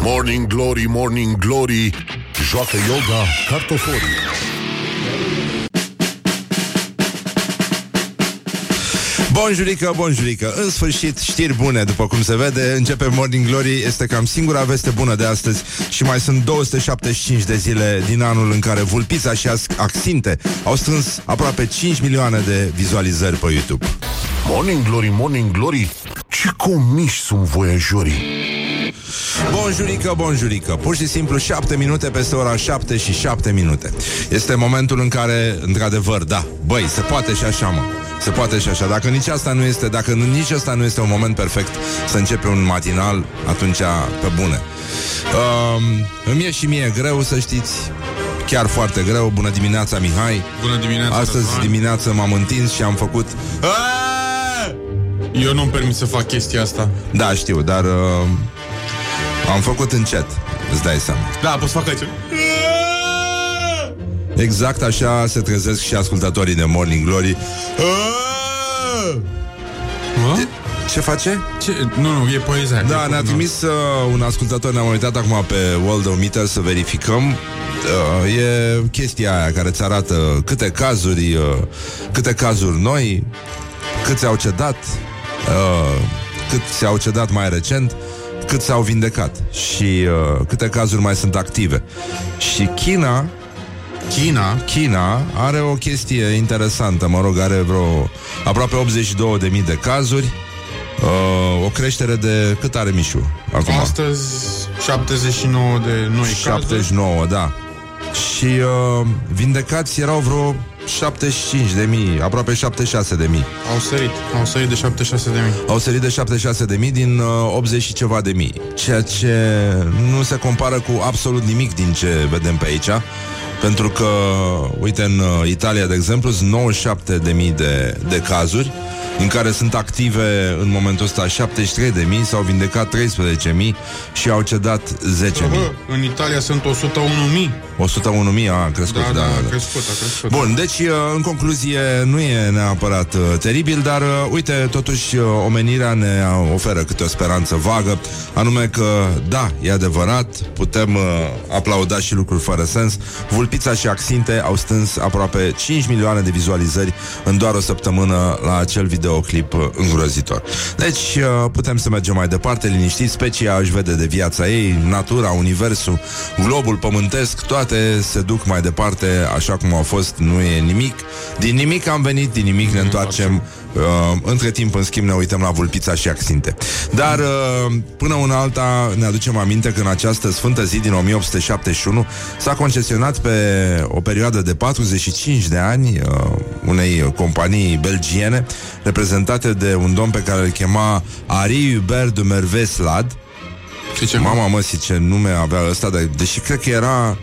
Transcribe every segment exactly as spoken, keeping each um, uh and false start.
Morning Glory, Morning Glory, joacă yoga cartoforii. Bonjurică, bonjurică. În sfârșit, știri bune, după cum se vede. Începe Morning Glory, este cam singura veste bună de astăzi. Și mai sunt două sute șaptezeci și cinci de zile din anul în care Vulpița și Axinte au strâns aproape cinci milioane de vizualizări pe YouTube. Morning Glory, Morning Glory, ce comiși sunt voiajorii. Bonjurică, bonjurică. Pur și simplu șapte minute peste ora șapte și șapte minute. Este momentul în care, într-adevăr, da, băi, se poate și așa, mă. Se poate și așa. Dacă nici asta nu este, dacă nici asta nu este un moment perfect să începe un matinal, atunci pe bune. Uh, îmi e și mie greu, să știți. Chiar foarte greu. Bună dimineața, Mihai. Bună dimineața. Astăzi Răzvan. dimineață m-am întins și am făcut... Eu nu-mi permit să fac chestia asta. Da, știu, dar uh, am făcut încet. Îți dai seama. Da, poți să fac aici. Exact așa se trezesc și ascultătorii de Morning Glory. Ce face? Ce? Nu, nu, e poezia. Da, ne-a trimis uh, un ascultător, ne-am uitat acum pe Worldometer să verificăm. Uh, e chestia aia care îți arată câte cazuri, uh, câte cazuri noi, câți au cedat, uh, cât s-au cedat mai recent, cât s-au vindecat și uh, câte cazuri mai sunt active. Și China China China are o chestie interesantă, mă rog, are vreo aproape optzeci și două de mii de cazuri, uh, o creștere de... Cât are Mișu acum? Astăzi șaptezeci și nouă de noi șaptezeci și nouă, cazuri. da. Și uh, vindecați erau vreo șaptezeci și cinci de mii, aproape șaptezeci și șase de mii. Au sărit, au sărit de șaptezeci și șase de mii. Au sărit de șaptezeci și șase de mii din uh, optzeci și ceva de mii. Ceea ce nu se compară cu absolut nimic din ce vedem pe aici. Pentru că, uite, în uh, Italia, de exemplu, sunt nouăzeci și șapte de mii de, de cazuri, în care sunt active în momentul ăsta șaptezeci și trei de mii, s-au vindecat treisprezece mii și au cedat zece mii. Bă, în Italia sunt o sută unu mii. o sută unu mii a crescut, Da, da, da, da, a crescut, a crescut. Bun, deci, în concluzie, nu e neapărat uh, teribil, dar, uh, uite, totuși, uh, omenirea ne oferă câte o speranță vagă, anume că, da, e adevărat, putem uh, aplauda și lucruri fără sens. Vulpița și Axinte au strâns aproape cinci milioane de vizualizări în doar o săptămână la acel videoclip uh, îngrozitor. Deci, uh, putem să mergem mai departe, liniștiți, specia își vede de viața ei, natura, universul, globul pământesc, toate se duc mai departe așa cum au fost, nu e nimic. Din nimic am venit, din nimic ne întoarcem. Uh, între timp, în schimb, ne uităm la Vulpița și Axinte. Dar, uh, până una alta, ne aducem aminte că în această sfântă zi din o mie opt sute șaptezeci și unu s-a concesionat pe o perioadă de patruzeci și cinci de ani uh, unei companii belgiene, reprezentate de un domn pe care îl chema Henri Hubert de Merveslad. Mama măsii, ce nume avea ăsta, de, deși cred că era...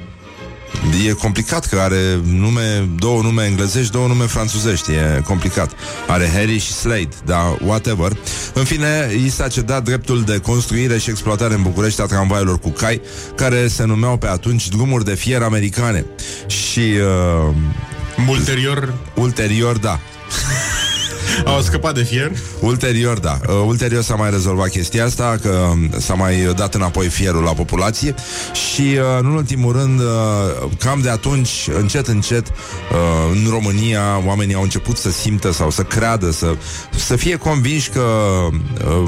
E complicat că are nume, două nume englezești, două nume franțuzești. E complicat. Are Harry și Slade, dar whatever. În fine, i s-a cedat dreptul de construire și exploatare în București a tramvaielor cu cai, care se numeau pe atunci drumuri de fier americane. Și uh, ulterior Ulterior, da. Au scăpat de fier. Ulterior, da. Uh, ulterior s-a mai rezolvat chestia asta, că s-a mai dat înapoi fierul la populație. Și, uh, în ultimul rând, uh, cam de atunci, încet, încet, uh, în România, oamenii au început să simtă sau să creadă, să, să fie convinși că uh,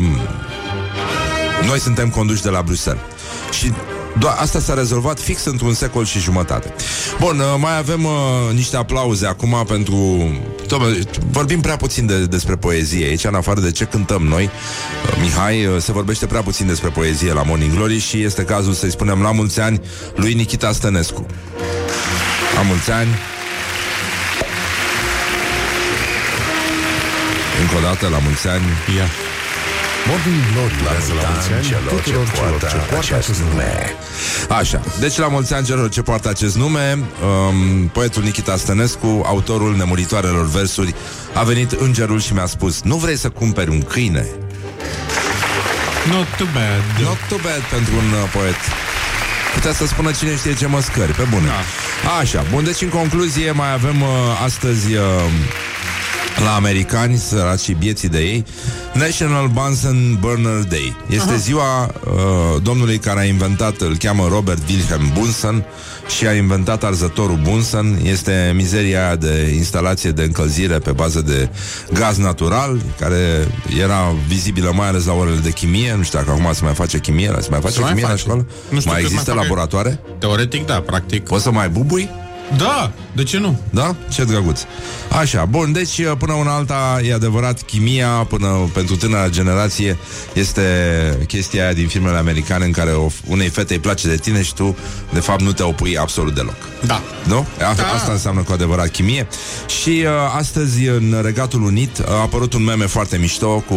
noi suntem conduși de la Bruxelles. Și doar asta s-a rezolvat fix într-un secol și jumătate. Bun, mai avem uh, niște aplauze acum pentru... Doamne, vorbim prea puțin de, despre poezie aici, în afară de ce cântăm noi. uh, Mihai, uh, se vorbește prea puțin despre poezie la Morning Glory și este cazul să-i spunem la mulți ani lui Nichita Stănescu. La mulți ani. Încă o dată, la mulți ani. Yeah. Morning Glory, la mulți ani celor ce poartă, ce poartă acest nume. Așa, deci la mulți ani celor ce poartă acest nume, um, poetul Nichita Stănescu, autorul nemuritoarelor versuri, a venit îngerul și mi-a spus: nu vrei să cumperi un câine? Not too bad. Not too bad pentru un uh, poet. Putea să spună cine știe ce măscări, pe bune. Da. Așa, bun, deci în concluzie mai avem uh, astăzi uh, la americani, săracii bieții de ei, National Bunsen Burner Day. Este Aha. ziua uh, domnului care a inventat, îl cheamă Robert Wilhelm Bunsen și a inventat arzătorul Bunsen. Este mizeria aia de instalație de încălzire pe bază de gaz natural, care era vizibilă mai ales la orele de chimie. Nu știu dacă acum se mai face chimie, se mai face se chimie mai face. la școală? Nu știu, mai există mai laboratoare? Teoretic, da, practic. Poți să mai bubui? Da, de ce nu? Da? Ce drăguț. Așa, bun, deci până una alta e adevărat, chimia până pentru tânăra generație este chestia aia din filmele americane în care o, unei fete îi place de tine și tu de fapt nu te opui absolut deloc. Da. Nu? A, da. Asta înseamnă cu adevărat chimie. Și uh, astăzi în Regatul Unit a apărut un meme foarte mișto cu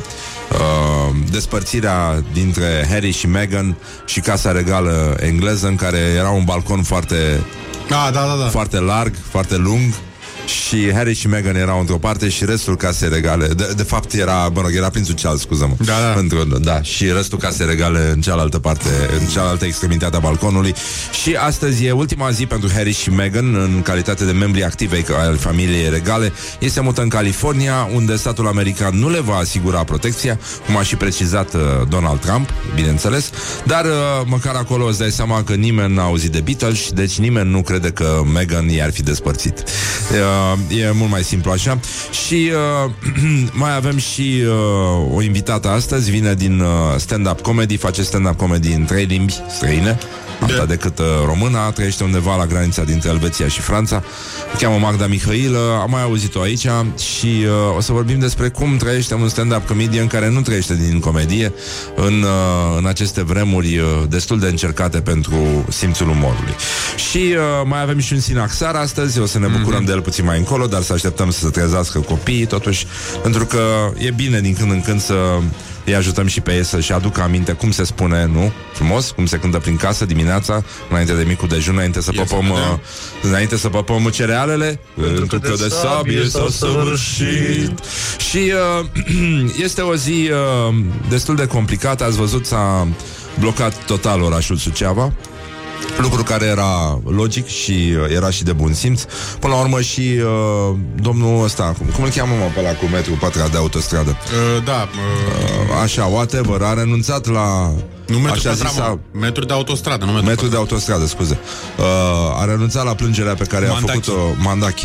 uh, despărțirea dintre Harry și Meghan și Casa Regală engleză, în care era un balcon foarte Da, da, da, da. foarte larg, foarte lung, și Harry și Meghan erau într-o parte și restul Casei Regale, de, de fapt era, mă rog, era prințul Charles, scuză-mă. Da, da. Într-o, da, și restul Casei Regale în cealaltă parte, în cealaltă extremitate a balconului. Și astăzi e ultima zi pentru Harry și Meghan în calitate de membri active al familiei regale. Ei se mută în California, unde statul american nu le va asigura protecția, cum a și precizat uh, Donald Trump, bineînțeles, dar uh, măcar acolo îți dai seama că nimeni n-a auzit de Beatles, deci nimeni nu crede că Meghan i-ar fi despărțit. Uh, E mult mai simplu așa. Și uh, mai avem și uh, o invitată astăzi. Vine din uh, stand-up comedy. Face stand-up comedy în trei limbi străine, alta decât uh, româna. Trăiește undeva la granița dintre Elveția și Franța. Se cheamă Magda Mihailă. Am mai auzit-o aici. Și uh, o să vorbim despre cum trăiește un stand-up comedian care nu trăiește din comedie în, uh, în aceste vremuri uh, destul de încercate pentru simțul umorului. Și uh, mai avem și un sinaxar astăzi. O să ne bucurăm mm-hmm. de el puțin mai încolo, dar să așteptăm să se trezească copiii totuși, pentru că e bine din când în când să îi ajutăm și pe ei să-și aducă aminte cum se spune, nu? Frumos, cum se cântă prin casă dimineața, înainte de micul dejun, înainte să păpăm uh, înainte să păpăm cerealele, pentru că de sabie s-a săvârșit. Și uh, este o zi uh, destul de complicată. Ați văzut, s-a blocat total orașul Suceava, lucru care era logic și uh, era și de bun simț. Până la urmă și uh, domnul ăsta, cum, cum îl cheamă mă pe ăla cu metru pătra de autostradă? Uh, da. Uh, uh, așa, whatever, a renunțat la... Nu metru așa pătra, zisa, mă. Metru de autostradă, nu metru, metru de autostradă, scuze. Uh, a renunțat la plângerea pe care Mandachi. a făcut-o Mandachi.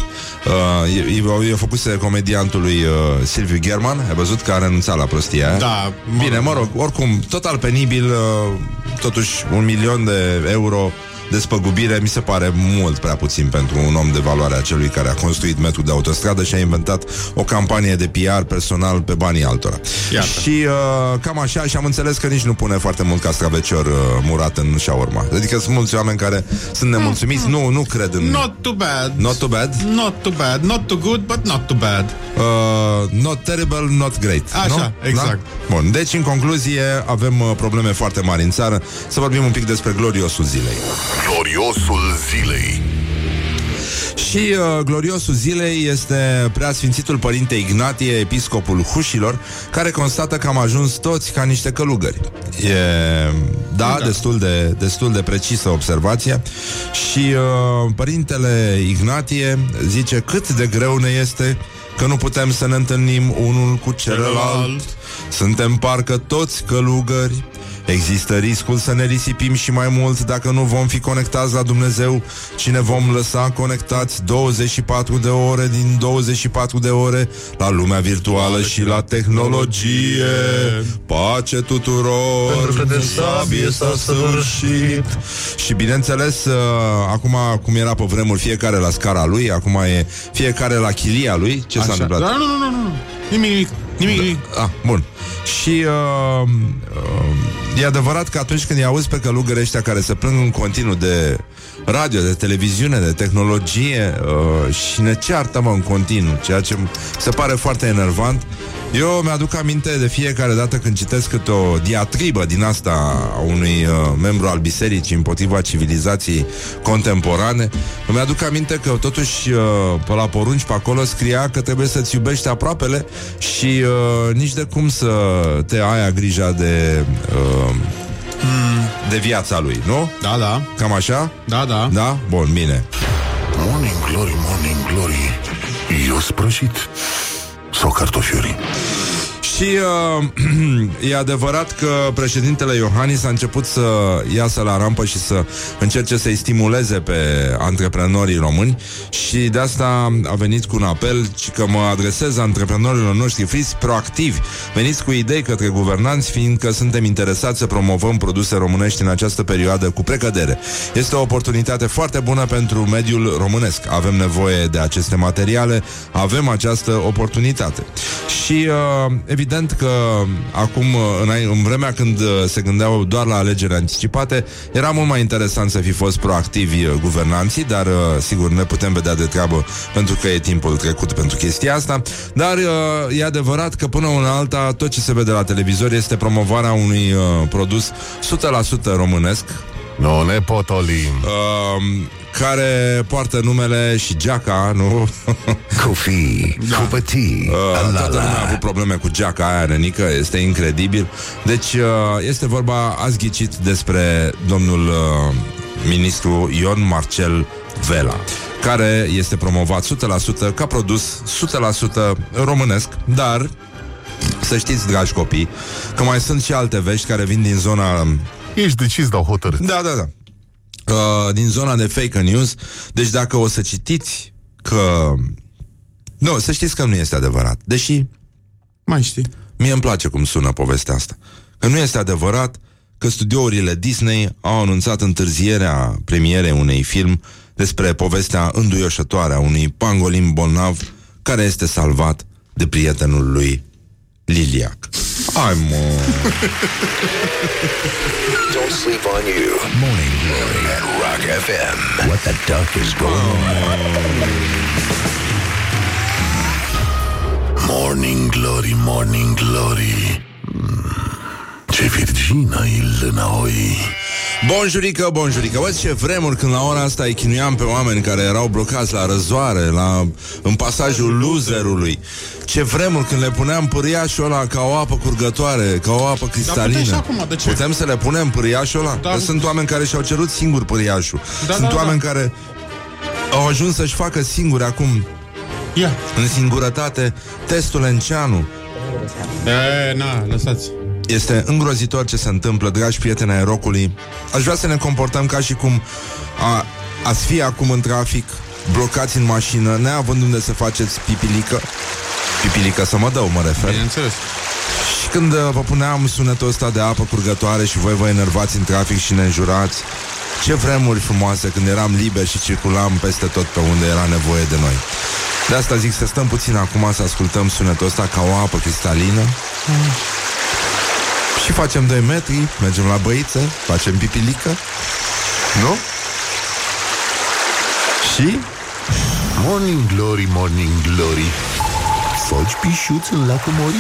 Uh, i-a făcut comediantului uh, Silviu German. Ai văzut că a renunțat la prostia aia? Da. Bine, mă rog, oricum, total penibil, uh, totuși un milion de euro despăgubire mi se pare mult prea puțin pentru un om de valoarea celui care a construit metru de autostradă și a inventat o campanie de P R personal pe banii altora. Iată. Și uh, cam așa, și am înțeles că nici nu pune foarte mult castravecior uh, murat în shawarma. Adică sunt mulți oameni care sunt nemulțumiți. Nu, nu cred în... Not too bad. Not too bad? Not too bad. Not too good, but not too bad. Uh, not terrible, not great. Așa, nu? exact. Da? Bun, deci în concluzie avem uh, probleme foarte mari în țară. Să vorbim un pic despre gloriosul zilei. Gloriosul zilei. Și uh, gloriosul zilei este Preasfințitul Părinte Ignatie, episcopul Hușilor, care constată că am ajuns toți ca niște călugări. E, da, da. Destul, de, destul de precisă observația. Și uh, Părintele Ignatie zice cât de greu ne este că nu putem să ne întâlnim unul cu celălalt. Suntem parcă toți călugări. Există riscul să ne risipim și mai mult dacă nu vom fi conectați la Dumnezeu, ci ne vom lăsa conectați douăzeci și patru de ore din douăzeci și patru de ore la lumea virtuală și la tehnologie. Pace tuturor, pentru că de sabie s-a săvârșit. Și bineînțeles, uh, acum, cum era pe vremuri, fiecare la scara lui, acum e fiecare la chilia lui. Ce Așa. s-a întâmplat? Da, nu, nu, nu, nu. Nimic, nimic. Nimic, nimic. Ah, bun. Și uh, uh, e adevărat că atunci când îi auzi pe călugări ăștia care se plâng în continuu de radio, de televiziune, de tehnologie uh, și ne ceartă, mă, în continuu, ceea ce se pare foarte enervant. Eu mi-aduc aminte de fiecare dată când citesc câte o diatribă din asta a unui uh, membru al bisericii împotriva civilizației contemporane. Îmi aduc aminte că totuși uh, pe la porunci pe acolo scria că trebuie să-ți iubești aproapele și uh, nici de cum să te ai grija de... Uh, de viața lui, nu? Da, da. Cam așa? Da, da. Da? Bun, bine. Morning Glory, Morning Glory, ios prăjit sau cartofiuri. Și uh, e adevărat că președintele Iohannis a început să iasă la rampă și să încerce să-i stimuleze pe antreprenorii români și de asta a venit cu un apel și că mă adresez antreprenorilor noștri, fiți proactivi, veniți cu idei către guvernanți, fiindcă suntem interesați să promovăm produse românești în această perioadă cu precădere. Este o oportunitate foarte bună pentru mediul românesc. Avem nevoie de aceste materiale, avem această oportunitate. Și uh, evident că acum, în, în vremea când se gândeau doar la alegeri anticipate, era mult mai interesant să fi fost proactivi guvernanții, dar sigur ne putem vedea de treabă pentru că e timpul trecut pentru chestia asta. Dar e adevărat că până una alta tot ce se vede la televizor este promovarea unui uh, produs o sută la sută românesc. Nu ne potolim. Uh, care poartă numele și geaca, nu? Cu fi, da. Cu pătii. Uh, toată lumea a avut probleme cu geaca aia, Renică, este incredibil. Deci uh, este vorba, ați ghicit, despre domnul uh, ministru Ion Marcel Vela, care este promovat o sută la sută ca produs o sută la sută românesc, dar să știți, dragi copii, că mai sunt și alte vești care vin din zona... Ești decis, dau hotărât. Da, da, da. Uh, din zona de fake news. Deci dacă o să citiți că... Nu, să știți că nu este adevărat. Deși mai știi, mie îmi place cum sună povestea asta. Că nu este adevărat că studiourile Disney au anunțat întârzierea premierei unei film despre povestea înduioșătoare a unui pangolin bolnav care este salvat de prietenul lui Liliac. Ai, mă! Don't sleep on you. Morning Glory at Rock F M. What the duck is going on? Morning Glory, Morning Glory. Ce virgină e lânaoi. Bonjurică, bonjurică. Văd ce vremuri când la ora asta îi chinuiam pe oameni care erau blocați la răzoare, la, în pasajul loserului. Ce vremuri când le puneam pâriașul ăla ca o apă curgătoare, ca o apă cristalină. Da, acum, de ce? Putem să le punem pâriașul ăla? Da. Că sunt oameni care și-au cerut singur pâriașul. Da, sunt da, oameni da. care au ajuns să-și facă singuri acum, Ia. în singurătate, testul Enceanu. E, na, lăsați. Este îngrozitor ce se întâmplă, dragi prieteni ai rockului. Aș vrea să ne comportăm ca și cum a, ați fi acum în trafic, blocați în mașină, neavând unde să faceți pipilică. Pipilică să mă dau, mă refer. Bineînțeles. Și când uh, vă puneam sunetul ăsta de apă curgătoare și voi vă enervați în trafic și ne înjurați, ce vremuri frumoase când eram liberi și circulam peste tot pe unde era nevoie de noi. De asta zic să stăm puțin acum să ascultăm sunetul ăsta ca o apă cristalină. mm. Și facem doi metri, mergem la băiță, facem pipilică. Nu? Și? Morning Glory, Morning Glory. Foci pișuți în lacul Mori?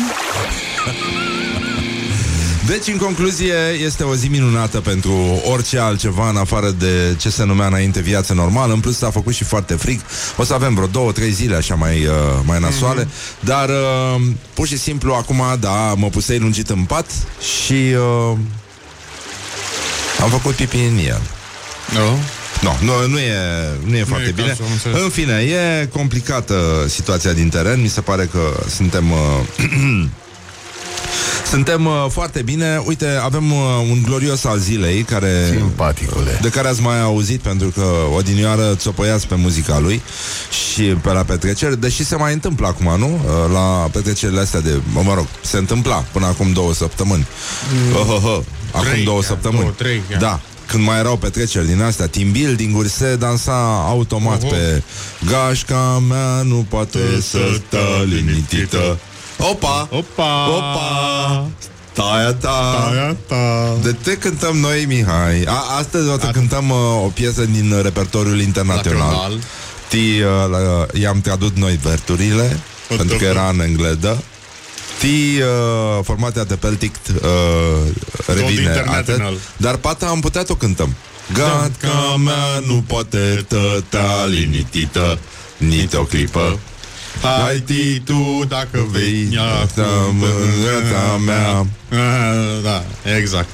Deci, în concluzie, este o zi minunată pentru orice altceva în afară de ce se numea înainte viață normală. În plus s-a făcut și foarte frig. O să avem vreo două, trei zile așa mai, uh, mai nasoale. Mm-hmm. Dar uh, pur și simplu acum, da, mă pusei lungit în pat și uh, am făcut pipi în el. Nu? No, nu, nu e, nu e nu foarte e bine. cazul, în fine, e complicată situația din teren. Mi se pare că suntem uh, Suntem uh, foarte bine. Uite, avem uh, un glorios al zilei care, simpaticule, de care ați mai auzit, pentru că odinioară țopăiați pe muzica lui și pe la petreceri, deși se mai întâmplă acum, nu? Uh, la petrecerile astea de, mă rog, se întâmpla până acum două săptămâni. mm. uh, uh, uh, Acum trei, două chiar, săptămâni două, trei, da, când mai erau petreceri din astea, team building-uri, se dansa automat uh-huh. pe gașca mea nu poate să stă liniștită. Opa! Opa! Opa! Taia ta! Taia ta! De te cântăm noi, Mihai. A, astăzi o să cântăm uh, o piesă din repertoriul internațional. Ti, uh, la, i-am tradus noi verturile, o pentru că era în engleză. Ti, uh, formația de Peltic uh, revine atât. Dar pata am putea o cântăm. Gașca mea nu poate tăta liniștită nici o clipă. Hai ti tu dacă vei mângâța mea. Da, exact.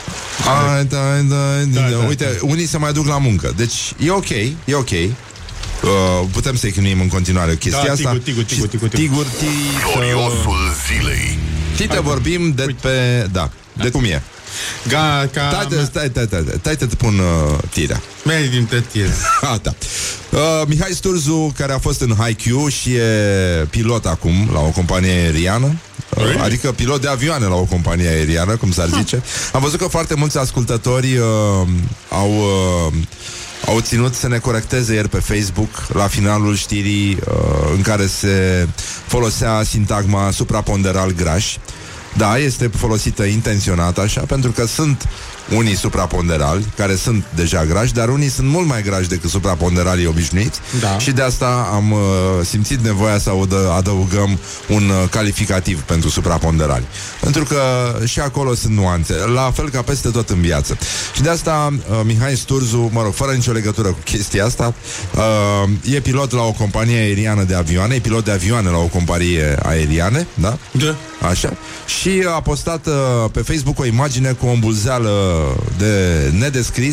Hai, da, da, da. Uite, unii se mai duc la muncă. Deci e ok, e ok. uh, putem să-i chinuim în continuare chestia da, asta. Tigur, tigur, tigur, tigur. Tigur, Gloriosul zilei. Ti te vorbim de pe... Da, de cum e. Ga, ca... Stai, stai, stai, stai, stai, te pun uh, tirea. Mergi dintre tine. Ah, da. Uh, Mihai Sturzu, care a fost în Haikyuu și e pilot acum la o companie aeriană, uh, adică pilot de avioane la o companie aeriană, cum s-ar zice. Am văzut că foarte mulți ascultători uh, au... Uh, au ținut să ne corecteze ieri pe Facebook la finalul știrii uh, în care se folosea sintagma supraponderal graș. Da, este folosită intenționat așa, pentru că sunt unii supraponderali, care sunt deja grași, dar unii sunt mult mai grași decât supraponderalii obișnuiți, da. Și de asta am uh, simțit nevoia să audă, adăugăm un uh, calificativ pentru supraponderali. Pentru că și acolo sunt nuanțe, la fel ca peste tot în viață. Și de asta uh, Mihai Sturzu, mă rog, fără nicio legătură cu chestia asta, uh, e pilot la o companie aeriană de avioane, e pilot de avioane la o companie aeriane, da? Da. Așa. Și a postat uh, pe Facebook o imagine cu o îmbulzeală de nedescris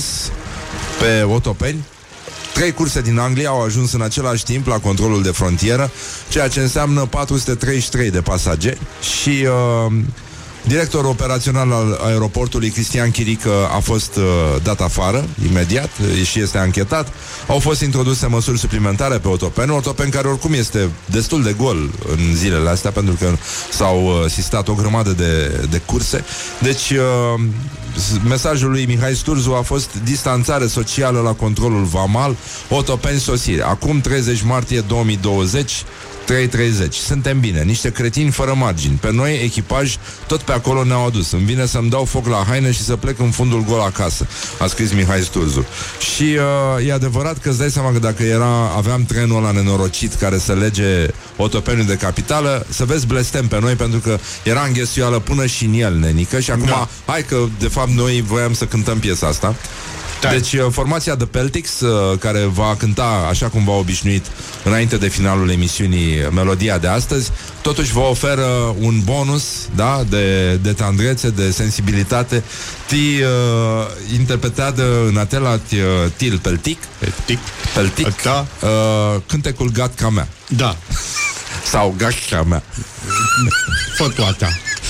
pe otopeni. Trei curse din Anglia au ajuns în același timp la controlul de frontieră, ceea ce înseamnă patru sute treizeci și trei de pasageri. Și uh, directorul operațional al aeroportului, Cristian Chirică, a fost uh, dat afară imediat și este anchetat. Au fost introduse măsuri suplimentare pe otopeni, otopen care oricum este destul de gol în zilele astea, pentru că s-au uh, sistat o grămadă de, de curse. Deci uh, mesajul lui Mihai Sturzu a fost distanțare socială la controlul vamal, otopeni sosire. Acum treizeci martie două mii douăzeci, trei treizeci. Suntem bine, niște cretini fără margini. Pe noi, echipaj, tot pe acolo ne-au adus. Îmi vine să-mi dau foc la haine și să plec în fundul gol acasă, a scris Mihai Sturzu. Și uh, e adevărat că îți dai seama că dacă era, aveam trenul ăla nenorocit care să lege otopeniul de capitală, să vezi blestem pe noi, pentru că era înghesioală până și în el, nenică. Și acum, da. Hai că, de fapt, noi voiam să cântăm piesa asta. Da. Deci formația The Peltics, uh, care va cânta așa cum v-a obișnuit înainte de finalul emisiunii melodia de astăzi, totuși vă oferă un bonus, da, de, de tandrețe, de sensibilitate. Ti uh, interpretează în atelat uh, Til Peltic Peltic, Peltic da. uh, cântecul Gatca mea. Da. Sau Gatca mea. Fătoata.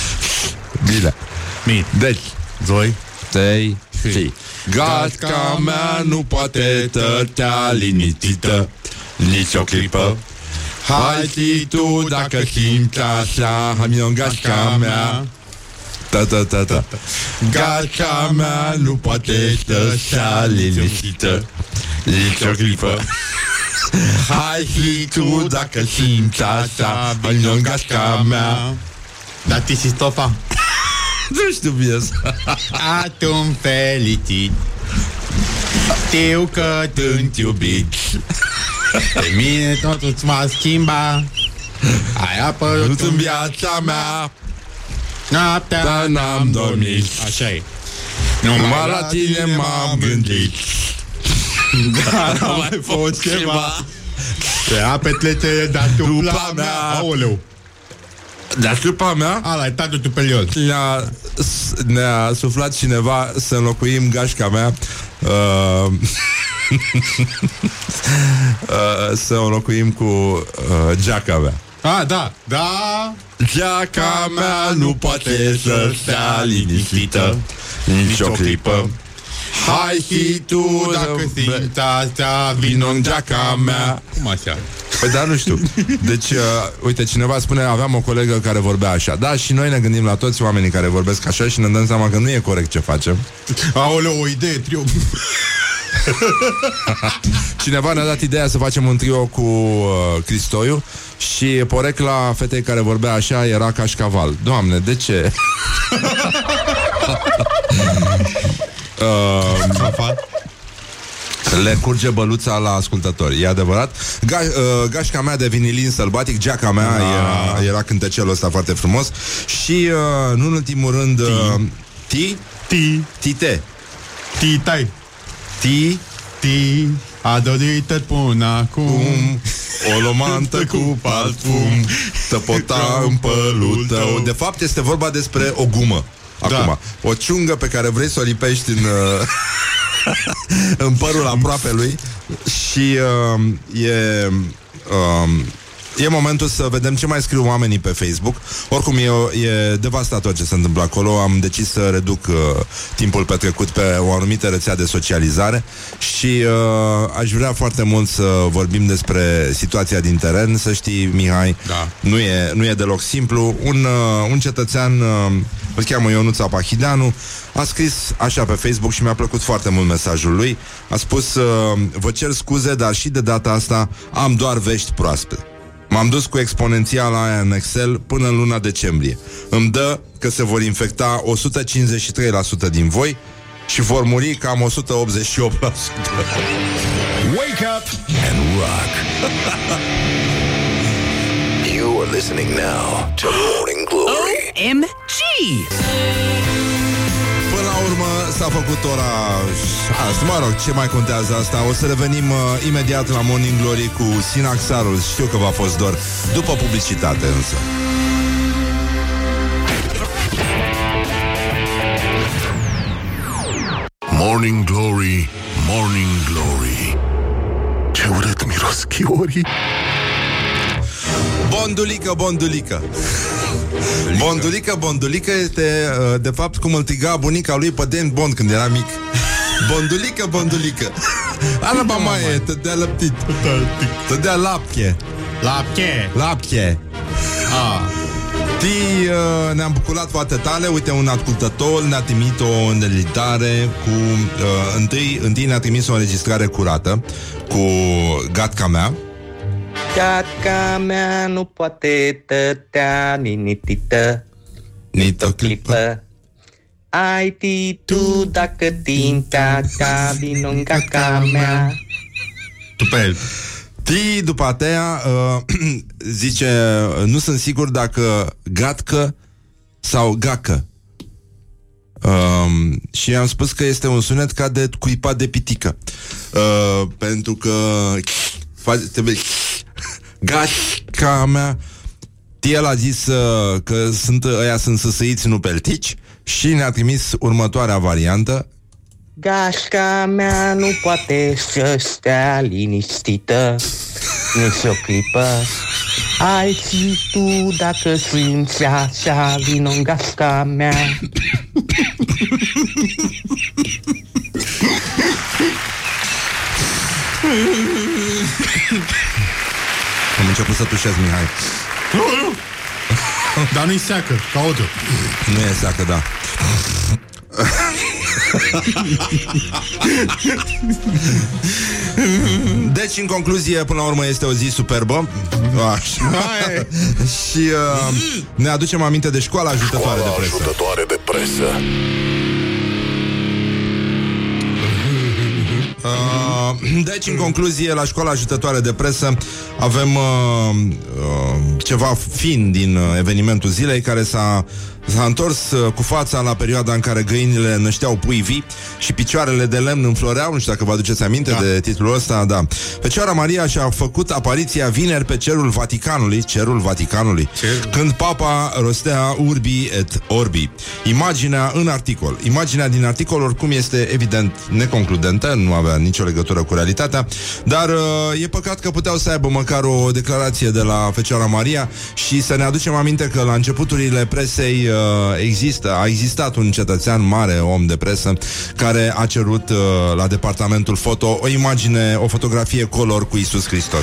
Bine. Bine. Deci Doi, trei și Gatca mea nu poate tătea liniștită nici o clipă. Hai și tu dacă simți așa, hai-mi-o gatca mea. Ta-ta-ta-ta. Gatca mea nu poate tătea liniștită nici o clipă. Hai și tu dacă simți așa, hai-mi-o gatca mea. Da, ti si stofa. Nu știu piesa. Atum felicit. Știu că sunt iubit. Pe mine totul m-a schimbat. Ai apărut în viața mea. Noaptea dar n-am dormit. Așa e. Numai la tine m-am gândit. Dar n-am mai fost ceva. Te a petrecere de-a tupla mea. Aoleu. De-a trupa mea Ala, e tatăl tu pe liol. ne-a, ne-a suflat cineva să înlocuim gașca mea uh, uh, să o înlocuim cu uh, geaca mea. Ah, da, da. Geaca mea nu poate să stea liniștită nici o clipă. Hai și tu dacă simți asta, vino în geaca mea. Cum așa? Păi da, nu știu. Deci, uh, uite, cineva spune, aveam o colegă care vorbea așa. Da, și noi ne gândim la toți oamenii care vorbesc așa și ne dăm seama că nu e corect ce facem. Aoleu, o idee, trio. Cineva ne-a dat ideea să facem un trio cu uh, Cristoiu și porecla fetei care vorbea așa era cașcaval. Doamne, de ce? uh, Le curge băluța la ascultători. E adevărat. Ga, uh, Gașca mea de vinilin sălbatic, geaca mea ah. era, era cântecelul ăsta foarte frumos. Și uh, nu în ultimul rând uh, Ti Ti Tite Titai Ti Ti a dorit până acum o lomantă cu parfum tăpota în pălul tău. De fapt este vorba despre o gumă. Acum, da. O ciungă pe care vrei să o lipești în... Uh, în părul aproape lui. Și uh, e... Uh, E momentul să vedem ce mai scriu oamenii pe Facebook. Oricum e, e devastator ce se întâmplă acolo. Am decis să reduc uh, timpul petrecut pe o anumită rețea de socializare. Și uh, aș vrea foarte mult să vorbim despre situația din teren. Să știi, Mihai, da. nu, e, nu e deloc simplu. Un, uh, un cetățean, uh, îl cheamă Ionuț Apahideanu, a scris așa pe Facebook și mi-a plăcut foarte mult mesajul lui. A spus: uh, vă cer scuze, dar și de data asta am doar vești proaspete. M-am dus cu exponențiala aia în Excel până în luna decembrie. Îmi dă că se vor infecta o sută cincizeci și trei la sută din voi și vor muri cam o sută optzeci și opt la sută. Wake up and rock. You are listening now to Morning Glory. O M G! Până la urmă s-a făcut ora asta, mă rog, ce mai contează asta? O să revenim uh, imediat la Morning Glory cu Sinaxarul. Știu că v-a fost dor. După publicitate însă. Morning Glory, Morning Glory, ce urât miros chiorii. Bondulică, bondulică. Bondulică, bondulică este uh, de fapt cum îl tiga bunica lui pe James Bond când era mic. Bondulică, bondulică. Araba mai e, te dea lăptit. Te dea lapche. Lapche. Lapche. Ah. Ti, uh, ne-am bucurat foarte tare. Uite, un ascultător ne-a trimis o îndelitare cu uh, întâi, întâi ne-a trimis o înregistrare curată cu gatca mea. Gatca mea nu poate tătea ninitită nici o clipă. Ai ti tu dacă tintea ta vino în gatca mea. Tu pe el. Ti, după aceea, uh, zice, nu sunt sigur dacă gatcă sau gacă. Uh, și am spus că este un sunet ca de cuipat de pitică. Uh, pentru că trebuie gatca mea. El a zis uh, că sunt, ăia sunt săsăiți, nu peltici. Și ne-a trimis următoarea variantă. Gașca mea nu poate să stea liniștită nici o clipă. Ai și tu dacă simți așa, vino în gașca mea. Am început să tușez, Mihai. Dar nu-i seacă, ca odă. Nu e seacă, da. Deci, în concluzie, până la urmă este o zi superbă. Așa. Și uh, ne aducem aminte de școala ajutătoare de presă. Ajutătoare de presă. Uh, deci, în concluzie, la școala ajutătoare de presă avem uh, uh, ceva fin din uh, evenimentul zilei, care s-a S-a întors uh, cu fața la perioada în care găinile nășteau pui vii și picioarele de lemn înfloreau. Nu știu dacă vă aduceți aminte da. de titlul ăsta, da. Fecioara Maria și-a făcut apariția vineri pe cerul Vaticanului, cerul Vaticanului, Cer. când papa rostea Urbi et Orbi. Imaginea în articol. Imaginea din articol oricum este evident neconcludentă, nu avea nicio legătură cu realitatea, dar uh, e păcat că puteau să aibă măcar o declarație de la Fecioara Maria și să ne aducem aminte că la începuturile presei există, a existat un cetățean mare, om de presă, care a cerut uh, la departamentul foto o imagine, o fotografie color cu Iisus Hristos.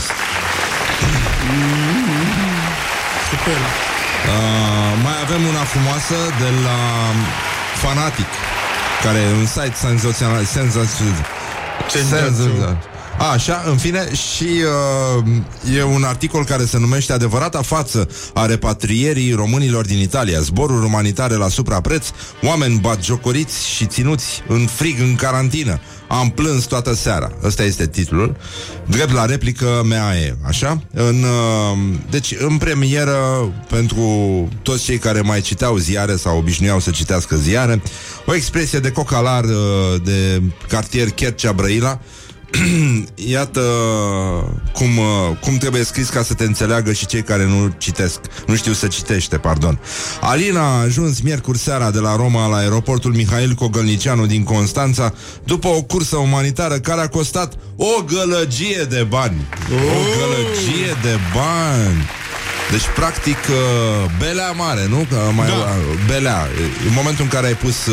Super. Uh, mai avem una frumoasă de la Fanatic, care e un site senzațional, senzațional. Senzațional. A, așa, în fine, și uh, e un articol care se numește Adevărata față a repatrierii românilor din Italia. Zboruri umanitare la suprapreț, oameni batjocoriți și ținuți în frig în carantină. Am plâns toată seara. Ăsta este titlul. Drept la replică mea e, așa? În, uh, deci, în premieră, pentru toți cei care mai citeau ziare sau obișnuiau să citească ziare, o expresie de cocalar uh, de cartier Chercea Brăila, iată cum, cum trebuie scris ca să te înțeleagă și cei care nu citesc, nu știu să citește, pardon. Alina a ajuns miercuri seara de la Roma la aeroportul Mihail Cogălnicianu din Constanța după o cursă umanitară care a costat o gălăgie de bani. O gălăgie de bani. Deci, practic, belea mare, nu? Că mai da. Belea. În momentul în care ai pus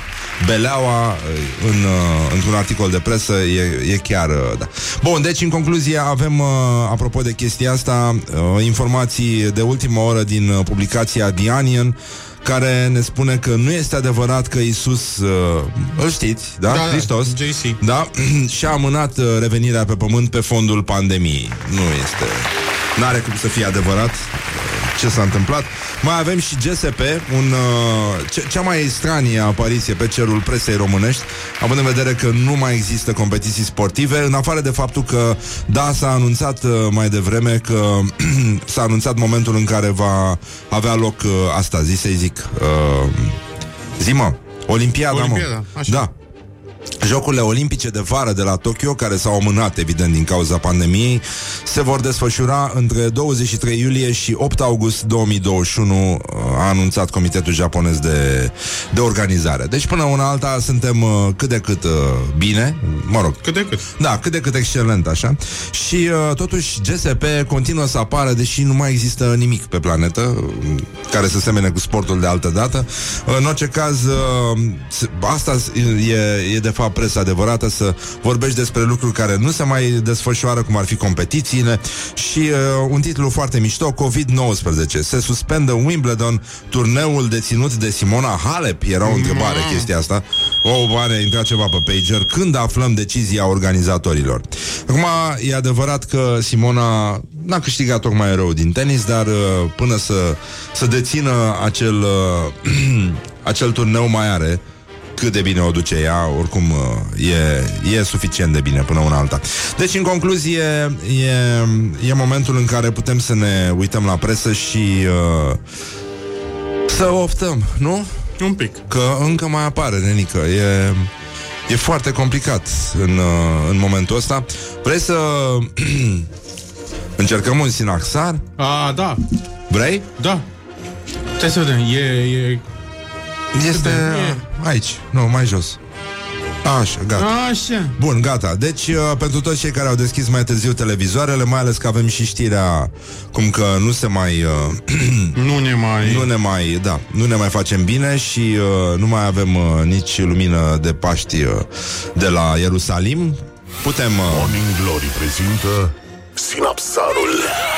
beleaua în, într-un articol de presă, e, e chiar... Da. Bun, deci, în concluzie, avem, apropo de chestia asta, informații de ultimă oră din publicația The Onion, care ne spune că nu este adevărat că Iisus, uh, îl știți, da? da Hristos, J C. Da? Și-a amânat uh, revenirea pe pământ pe fondul pandemiei. Nu este... N-are cum să fie adevărat ce s-a întâmplat. Mai avem și G S P, un, uh, ce, cea mai stranie apariție pe cerul presei românești, având în vedere că nu mai există competiții sportive, în afară de faptul că, da, s-a anunțat uh, mai devreme că s-a anunțat momentul în care va avea loc uh, asta, zi să-i zic, uh, zi mă, Olimpiada, Olimpiada mă. așa. Da. Jocurile olimpice de vară de la Tokyo, care s-au amânat, evident, din cauza pandemiei, se vor desfășura între douăzeci și trei iulie și opt august două mii douăzeci și unu, a anunțat Comitetul Japonez de, de Organizare. Deci, până una alta, suntem uh, cât de cât uh, bine, mă rog. Cât de cât. Da, cât de cât excelent, așa. Și, uh, totuși, G S P continuă să apară, deși nu mai există nimic pe planetă uh, care să semene cu sportul de altă dată. Uh, în orice caz, uh, asta e, e de fapt presa adevărată, să vorbești despre lucruri care nu se mai desfășoară, cum ar fi competițiile. Și uh, un titlu foarte mișto: covid nouăsprezece. Se suspendă Wimbledon, turneul deținut de Simona Halep. Era o întrebare mm. chestia asta. O, bane, intra ceva pe pager. Când aflăm decizia organizatorilor? Acum, e adevărat că Simona n-a câștigat tocmai rău din tenis, dar uh, până să, să dețină acel uh, acel turneu mai are cât de bine o duce ea, oricum e, e suficient de bine până una alta. Deci, în concluzie, e, e momentul în care putem să ne uităm la presă și uh, să optăm, nu? Un pic. Că încă mai apare, nenică. E, e foarte complicat în, uh, în momentul ăsta. Vrei să încercăm un sinaxar? A, da. Vrei? Da. Trebuie să vedem. E... e... Este aici, nu, mai jos. Așa, gata. Așa. Bun, gata. Deci, uh, pentru toți cei care au deschis mai târziu televizoarele, mai ales că avem și știrea cum că nu se mai... Uh, nu ne mai... Nu ne mai, da, nu ne mai facem bine și uh, nu mai avem uh, nici lumină de Paști uh, de la Ierusalim. Putem... Uh, Morning Glory prezintă Sinapsarul.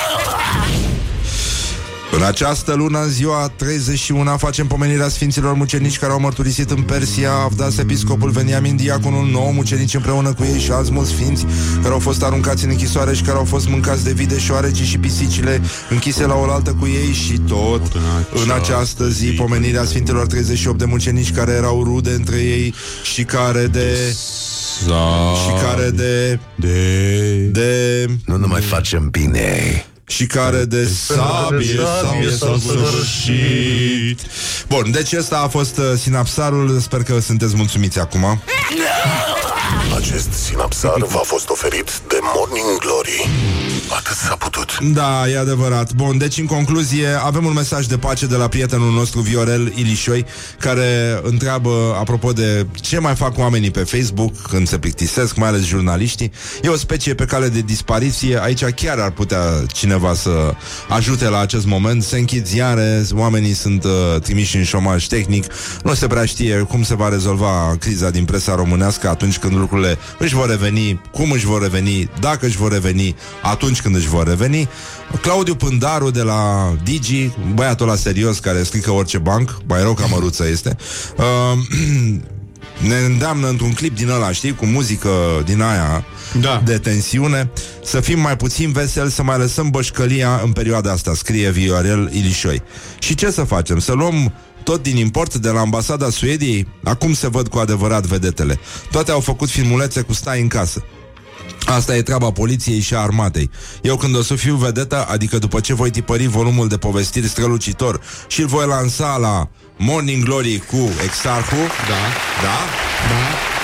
În această lună, în ziua treizeci și unu, facem pomenirea sfinților mucenici care au mărturisit în Persia, Avdas, episcopul Veniamin, diaconul, nouă mucenici împreună cu ei și alți mulți sfinți care au fost aruncați în închisoare și care au fost mâncați de vii, de șoarecii și pisicile închise la oaltă cu ei. Și tot în această zi, pomenirea sfinților treizeci și opt de mucenici care erau rude între ei și care de... și care de... de... de... Nu ne mai facem bine. și care de sabie, sabie s-au sfârșit. Bun, deci ăsta a fost uh, sinapsarul. Sper că sunteți mulțumiți acum. Acest sinapsar v-a fost oferit de Morning Glory. Atât s-a putut. Da, e adevărat. Bun, deci în concluzie avem un mesaj de pace de la prietenul nostru Viorel Ilișoi, care întreabă apropo de ce mai fac oamenii pe Facebook când se plictisesc, mai ales jurnaliștii. E o specie pe cale de dispariție. Aici chiar ar putea cineva să ajute la acest moment. Se închid ziare, oamenii sunt uh, trimiși în șomaj tehnic. Nu se prea știe cum se va rezolva criza din presa românească atunci când lucrurile își vor reveni, cum își vor reveni, dacă își vor reveni, atunci când își vor reveni. Claudiu Pândaru de la Digi, băiatul ăla serios care strică orice banc, mai rău ca măruță este, uh, ne îndeamnă într-un clip din ăla, știi, cu muzică din aia, da, de tensiune, să fim mai puțin veseli, să mai lăsăm bășcălia în perioada asta, scrie Viorel Ilișoi. Și ce să facem? Să luăm tot din import de la ambasada Suediei? Acum se văd cu adevărat vedetele. Toate au făcut filmulețe cu stai în casă. Asta e treaba poliției și a armatei. Eu când o să fiu vedetă, adică după ce voi tipări volumul de povestiri strălucitor și îl voi lansa la Morning Glory cu Exarhu, da, da, da,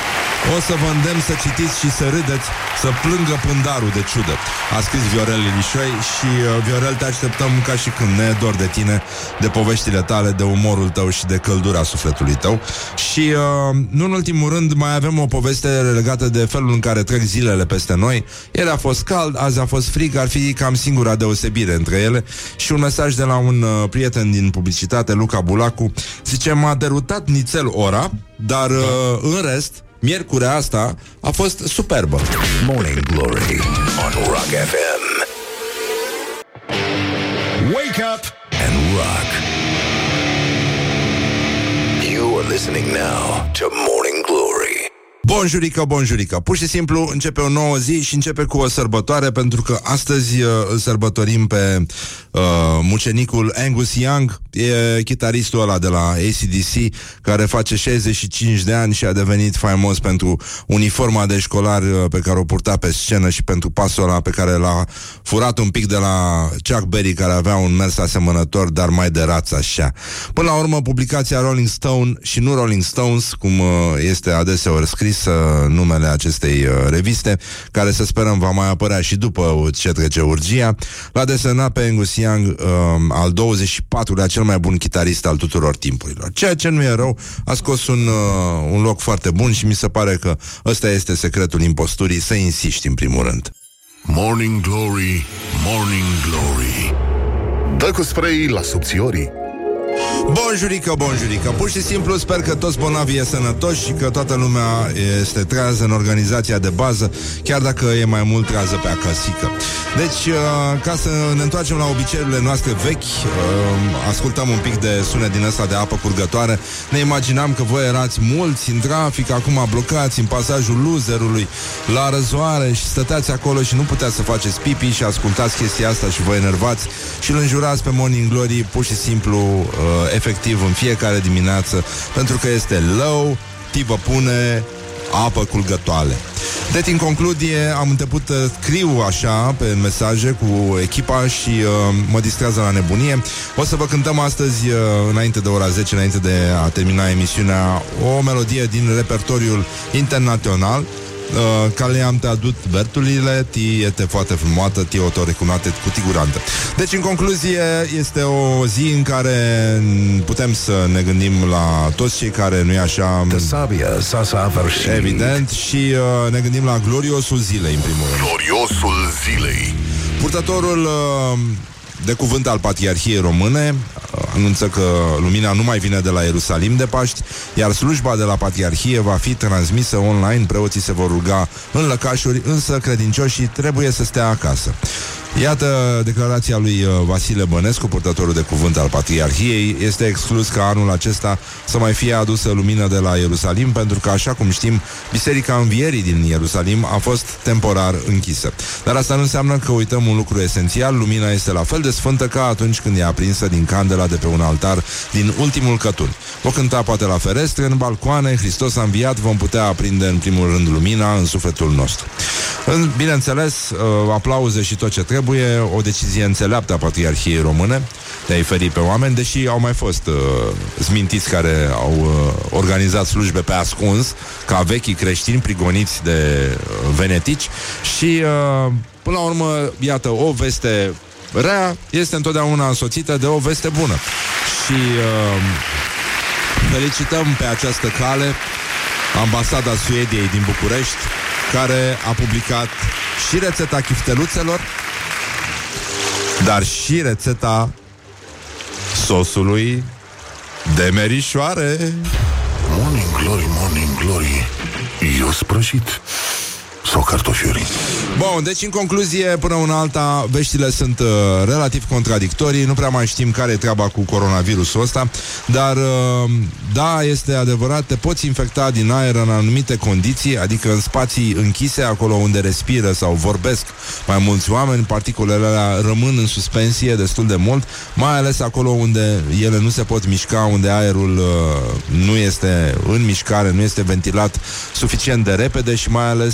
O să vă îndemn să citiți și să râdeți, să plângă pândarul de ciudă. A scris Viorel Lilișoi. Și uh, Viorel, te așteptăm ca și când ne e dor de tine, de poveștile tale, de umorul tău și de căldura sufletului tău. Și uh, nu în ultimul rând mai avem o poveste legată de felul în care trec zilele peste noi. Ieri a fost cald, azi a fost frig, ar fi cam singura deosebire între ele. Și un mesaj de la un uh, prieten din publicitate, Luca Bulacu, zice: m-a derutat nițel ora, dar uh, în rest, miercurea asta a fost superbă. Morning Glory on Rock F M. Wake up and rock. You are listening now to Morning Glory. Bonjurică, bonjurică. Pur și simplu începe o nouă zi și începe cu o sărbătoare, pentru că astăzi uh, îl sărbătorim pe uh, mucenicul Angus Young. E chitaristul ăla de la A C D C, care face șaizeci și cinci de ani și a devenit faimos pentru uniforma de școlar uh, pe care o purta pe scenă și pentru pasul ăla pe care l-a furat un pic de la Chuck Berry, care avea un mers asemănător, dar mai de rață așa. Până la urmă, publicația Rolling Stone și nu Rolling Stones, cum uh, este adeseori scris numele acestei uh, reviste, care să sperăm va mai apărea și după ce trece urgia, l-a desenat pe Angus Young, uh, al douăzeci și patrulea cel mai bun chitarist al tuturor timpurilor. Ceea ce nu e rău, a scos un, uh, un loc foarte bun și mi se pare că ăsta este secretul imposturii, să insiști în primul rând. Morning Glory, Morning Glory. Dă cu spray la subțiorii. Bonjurică, bonjurică. Pur și simplu sper că toți bolnavii e sănătoși și că toată lumea este trează în organizația de bază, chiar dacă e mai mult trează pe acasică. Deci, ca să ne întoarcem la obiceiurile noastre vechi, ascultăm un pic de sunet din ăsta de apă curgătoare. Ne imaginam că voi erați mulți în trafic, acum blocați în pasajul Loserului la răzoare și stăteați acolo și nu puteați să faceți pipi și ascultați chestia asta și vă enervați și îl înjurați pe Morning Glory pur și simplu, efectiv, în fiecare dimineață, pentru că este low, ti vă pune apă curgătoare. Deci, în concludie, am început să scriu așa pe mesaje cu echipa și uh, mă distrează la nebunie. O să vă cântăm astăzi, uh, înainte de ora zece, înainte de a termina emisiunea, o melodie din repertoriul internațional, Uh, care am te adut Bertulile, ti este foarte frumoasă, ti o to recunoate cu tigurantă. Deci, în concluzie, este o zi în care putem să ne gândim la toți cei care, nu-i așa, evident, și uh, ne gândim la gloriosul zilei, în primul rând. Gloriosul zilei. Purtătorul uh, de cuvânt al Patriarhiei Române anunță că lumina nu mai vine de la Ierusalim de Paști, iar slujba de la Patriarhie va fi transmisă online. Preoții se vor ruga în lăcașuri, însă credincioșii trebuie să stea acasă. Iată declarația lui Vasile Bănescu, purtătorul de cuvânt al Patriarhiei. Este exclus ca anul acesta să mai fie adusă lumină de la Ierusalim, pentru că, așa cum știm, Biserica Învierii din Ierusalim a fost temporar închisă. Dar asta nu înseamnă că uităm un lucru esențial: lumina este la fel de sfântă ca atunci când e aprinsă din candela de pe un altar din ultimul cătun. O cânta poate la ferestre, în balcoane, Hristos a înviat, vom putea aprinde în primul rând lumina în sufletul nostru. Bineînțeles, aplauze și tot ce trebuie. O decizie înțeleaptă a Patriarhiei Române de a-i feri pe oameni, deși au mai fost uh, smintiți care au uh, organizat slujbe pe ascuns, ca vechii creștini prigoniți de uh, venetici. Și uh, până la urmă, iată, o veste rea este întotdeauna însoțită de o veste bună. Și uh, felicităm pe această cale Ambasada Suediei din București, care a publicat și rețeta chifteluțelor, dar și rețeta sosului de merișoare. Morning Glory, Morning Glory, eu sprășit sau cartofiuri. Bun, deci în concluzie, până una alta, veștile sunt uh, relativ contradictorii. Nu prea mai știm care e treaba cu coronavirusul ăsta, dar uh, da, este adevărat, te poți infecta din aer în anumite condiții, adică în spații închise, acolo unde respiră sau vorbesc mai mulți oameni. Particulele alea rămân în suspensie destul de mult, mai ales acolo unde ele nu se pot mișca, unde aerul uh, nu este în mișcare, nu este ventilat suficient de repede și mai ales unde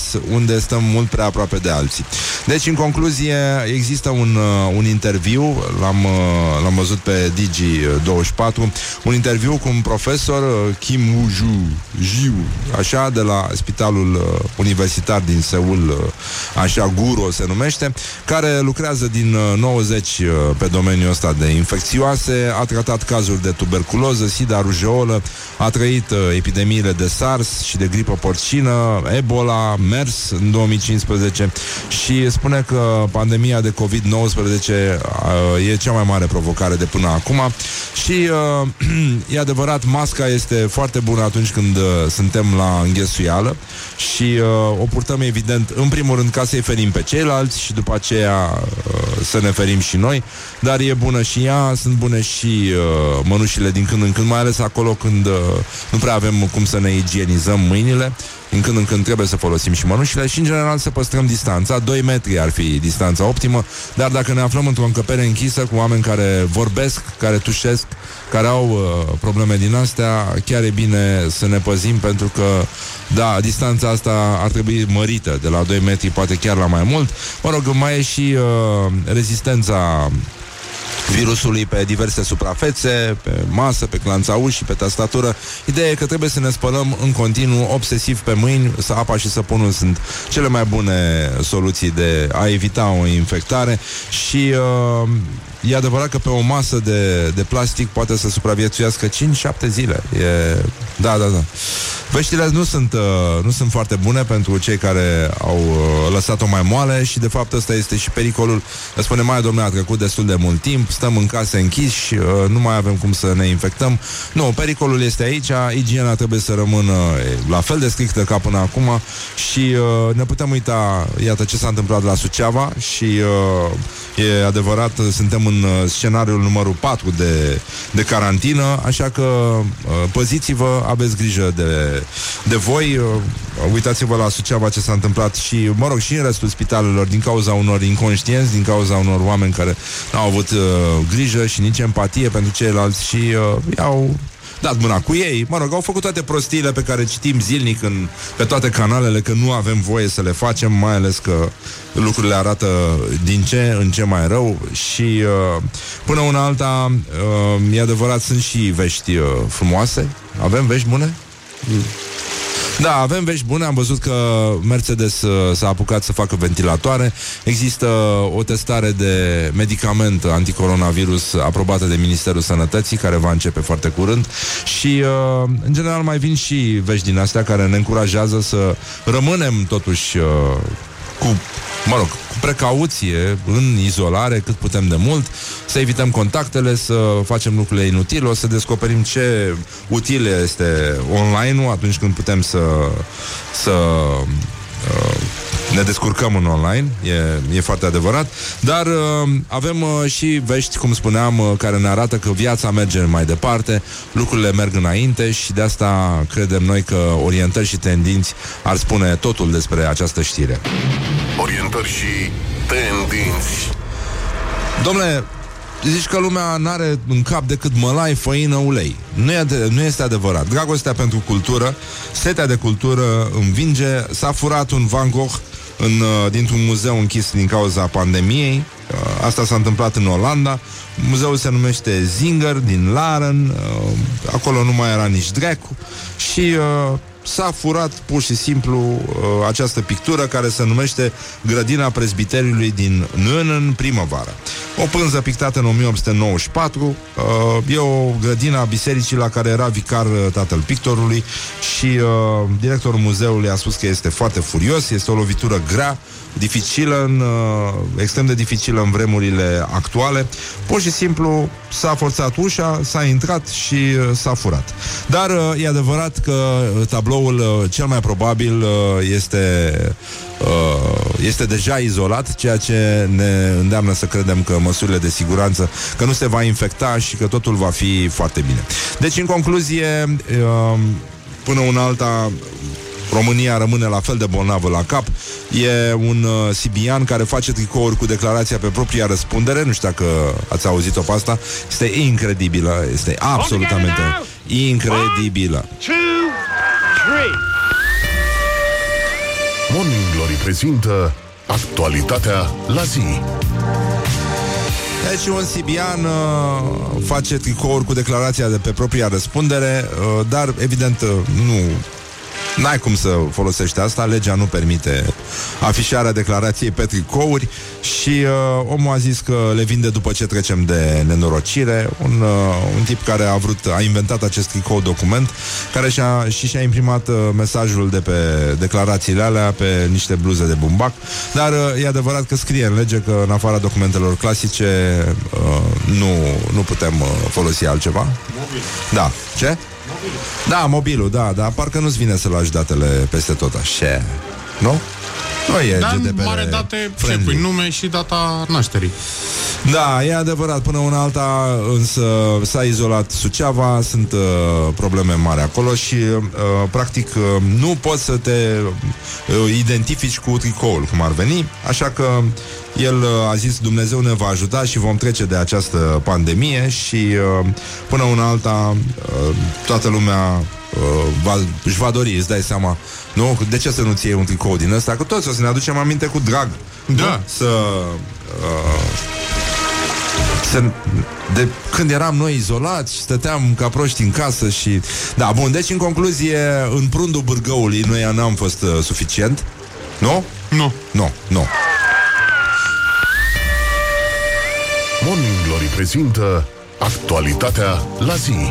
unde stăm mult prea aproape de alții. Deci, în concluzie, există un, uh, un interviu, l-am, uh, l-am văzut pe Digi douăzeci și patru, un interviu cu un profesor, uh, Kim Woo-ju, Jiu, așa, de la Spitalul uh, Universitar din Seul, uh, așa, Guro se numește, care lucrează din uh, nouăzeci uh, pe domeniul ăsta de infecțioase, a tratat cazuri de tuberculoză, sida, rujeolă, a trăit uh, epidemiile de SARS și de gripă porcină, Ebola, MERS în două mii cincisprezece și spune că pandemia de covid nouăsprezece uh, e cea mai mare provocare de până acum și uh, e adevărat, masca este foarte bună atunci când uh, suntem la înghesuială și uh, o purtăm evident în primul rând ca să-i ferim pe ceilalți și după aceea uh, să ne ferim și noi, dar e bună și ea, sunt bune și uh, mănușile din când în când, mai ales acolo când uh, nu prea avem cum să ne igienizăm mâinile. Din când în când trebuie să folosim și mănușile și, în general, să păstrăm distanța. doi metri ar fi distanța optimă, dar dacă ne aflăm într-o încăpere închisă cu oameni care vorbesc, care tușesc, care au uh, probleme din astea, chiar e bine să ne păzim, pentru că, da, distanța asta ar trebui mărită, de la doi metri, poate chiar la mai mult. Mă rog, mai e și uh, rezistența virusului pe diverse suprafețe, pe masă, pe clanța ușii, pe tastatură. Ideea e că trebuie să ne spălăm în continuu, obsesiv pe mâini, să apa și săpunul sunt cele mai bune soluții de a evita o infectare și uh, e adevărat că pe o masă de, de plastic poate să supraviețuiască cinci șapte zile. E... Da, da, da. Veștile nu sunt, uh, nu sunt foarte bune pentru cei care au uh, lăsat-o mai moale și de fapt ăsta este și pericolul. Spune, mai domnule, a trecut destul de mult timp, stăm în case închiși, uh, nu mai avem cum să ne infectăm. Nu, pericolul este aici, igiena trebuie să rămână la fel de strictă ca până acum și uh, ne putem uita, iată ce s-a întâmplat la Suceava și uh, e adevărat, suntem în uh, scenariul numărul patru de, de carantină, așa că uh, păziți-vă, aveți grijă de de voi, uh, uitați-vă la Suceava ce s-a întâmplat și, mă rog, și în restul spitalelor din cauza unor inconștienți, din cauza unor oameni care n-au avut uh, grijă și nici empatie pentru ceilalți și uh, i-au dat mâna cu ei, mă rog, au făcut toate prostiile pe care citim zilnic în, pe toate canalele, că nu avem voie să le facem, mai ales că lucrurile arată din ce în ce mai rău și uh, până una alta uh, e adevărat, sunt și vești uh, frumoase. Avem vești bune? Mm. Da, avem vești bune, am văzut că Mercedes uh, s-a apucat să facă ventilatoare. Există o testare de medicament anticoronavirus aprobată de Ministerul Sănătății, care va începe foarte curând. Și, uh, în general, mai vin și vești din astea care ne încurajează să rămânem totuși uh, cu, mă rog, cu precauție, în izolare, cât putem de mult, să evităm contactele, să facem lucrurile inutile, o să descoperim ce util este online-ul atunci când putem să, să uh, ne descurcăm în online, e, e foarte adevărat, dar uh, avem uh, și vești, cum spuneam, uh, care ne arată că viața merge mai departe, lucrurile merg înainte și de asta credem noi că orientări și tendinți ar spune totul despre această știre. Orientări și tendinți. Dom'le, zici că lumea n-are în cap decât mălai, făină, ulei. Nu, e de, nu este adevărat. Dragostea pentru cultură, setea de cultură învinge. S-a furat un Van Gogh în, dintr-un muzeu închis din cauza pandemiei. Asta s-a întâmplat în Olanda. Muzeul se numește Zinger, din Laren. Acolo nu mai era nici dracu. Și uh, s-a furat pur și simplu uh, această pictură care se numește Grădina Prezbiteriului din Nân, primăvară. O pânză pictată în o mie opt sute nouăzeci și patru. uh, E o grădină a bisericii la care era vicar uh, tatăl pictorului. Și uh, directorul muzeului a spus că este foarte furios. Este o lovitură grea, dificilă în, uh, extrem de dificilă în vremurile actuale. Pur și simplu s-a forțat ușa, s-a intrat și uh, s-a furat. Dar uh, e adevărat că tabloul uh, cel mai probabil uh, este uh, este deja izolat, ceea ce ne îndeamnă să credem că măsurile de siguranță, că nu se va infecta și că totul va fi foarte bine. Deci, în concluzie, uh, până una alta, România rămâne la fel de bolnavă la cap. E un uh, sibian care face tricouri cu declarația pe propria răspundere. Nu știu dacă ați auzit-o pe asta. Este incredibilă. Este absolutamente incredibilă. One, two, three. Morning Glory prezintă actualitatea la zi. Deci un sibian uh, face tricouri cu declarația de pe propria răspundere, uh, dar evident uh, nu... N-ai cum să folosești asta, legea nu permite afișarea declarației pe tricouri și uh, omul a zis că le vinde după ce trecem de nenorocire. Un, uh, un tip care a vrut, a inventat acest tricou document, care și-a, și și-a imprimat uh, mesajul de pe declarațiile alea pe niște bluze de bumbac, dar uh, e adevărat că scrie în lege că în afara documentelor clasice uh, nu, nu putem uh, folosi altceva. Mobil. Da. Ce? Mobilul. Da, mobilul, da, dar parcă nu-ți vine să lași datele peste tot așa, nu? Nu e dar G D P R mare date, ce pui, nume și data nașterii. Da, e adevărat, până una alta însă s-a izolat Suceava, sunt uh, probleme mari acolo și uh, practic uh, nu poți să te uh, identifici cu tricoul, cum ar veni, așa că el uh, a zis Dumnezeu ne va ajuta și vom trece de această pandemie și uh, până una alta uh, toată lumea uh, va, își va dori, îți dai seama, nu? De ce să nu-ți iei un tricou din ăsta? Că toți o să ne aducem aminte cu drag. Da. Nu? Să... Uh, să, de când eram noi izolați, stăteam ca proști în casă și... Da, bun, deci în concluzie, în prundul bârgăului noi n-am fost uh, suficient. Nu? Nu. Nu, nu. Morning Glory prezintă actualitatea la zi.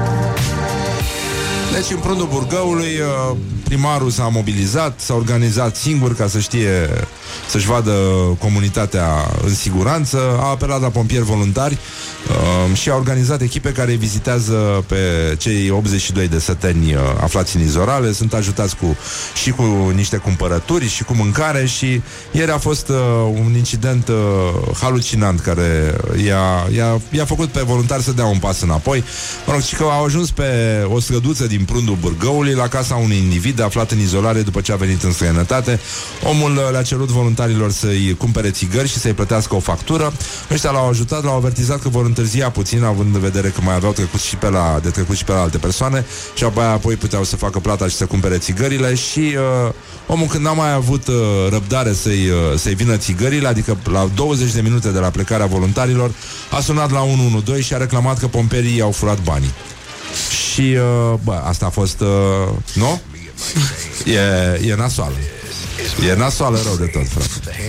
Deci în prundul Burgăului primarul s-a mobilizat, s-a organizat singur ca să știe, să-și vadă comunitatea în siguranță, a apelat la pompieri voluntari uh, și a organizat echipe care vizitează pe cei optzeci și doi de săteni uh, aflați în izolare, sunt ajutați cu, și cu niște cumpărături și cu mâncare și ieri a fost uh, un incident uh, halucinant care i-a, i-a, i-a făcut pe voluntari să dea un pas înapoi. Mă rog, și că au ajuns pe o străduță din prundul Burgăului la casa unui individ aflat în izolare după ce a venit în străinătate. Omul le-a cerut voluntarilor să-i cumpere țigări și să-i plătească o factură. Ăștia l-au ajutat, l-au avertizat că vor întârzia puțin, având în vedere că mai aveau trecut și pe la, de trecut și pe la alte persoane și apoi, apoi puteau să facă plata și să cumpere țigările și uh, omul când n-a mai avut uh, răbdare să-i, uh, să-i vină țigările, adică la douăzeci de minute de la plecarea voluntarilor, a sunat la unu unu doi și a reclamat că pomperii i-au furat banii. Și, uh, bă, asta a fost, uh, nu? E, e nasoală. E nasoală rău de tot, frate.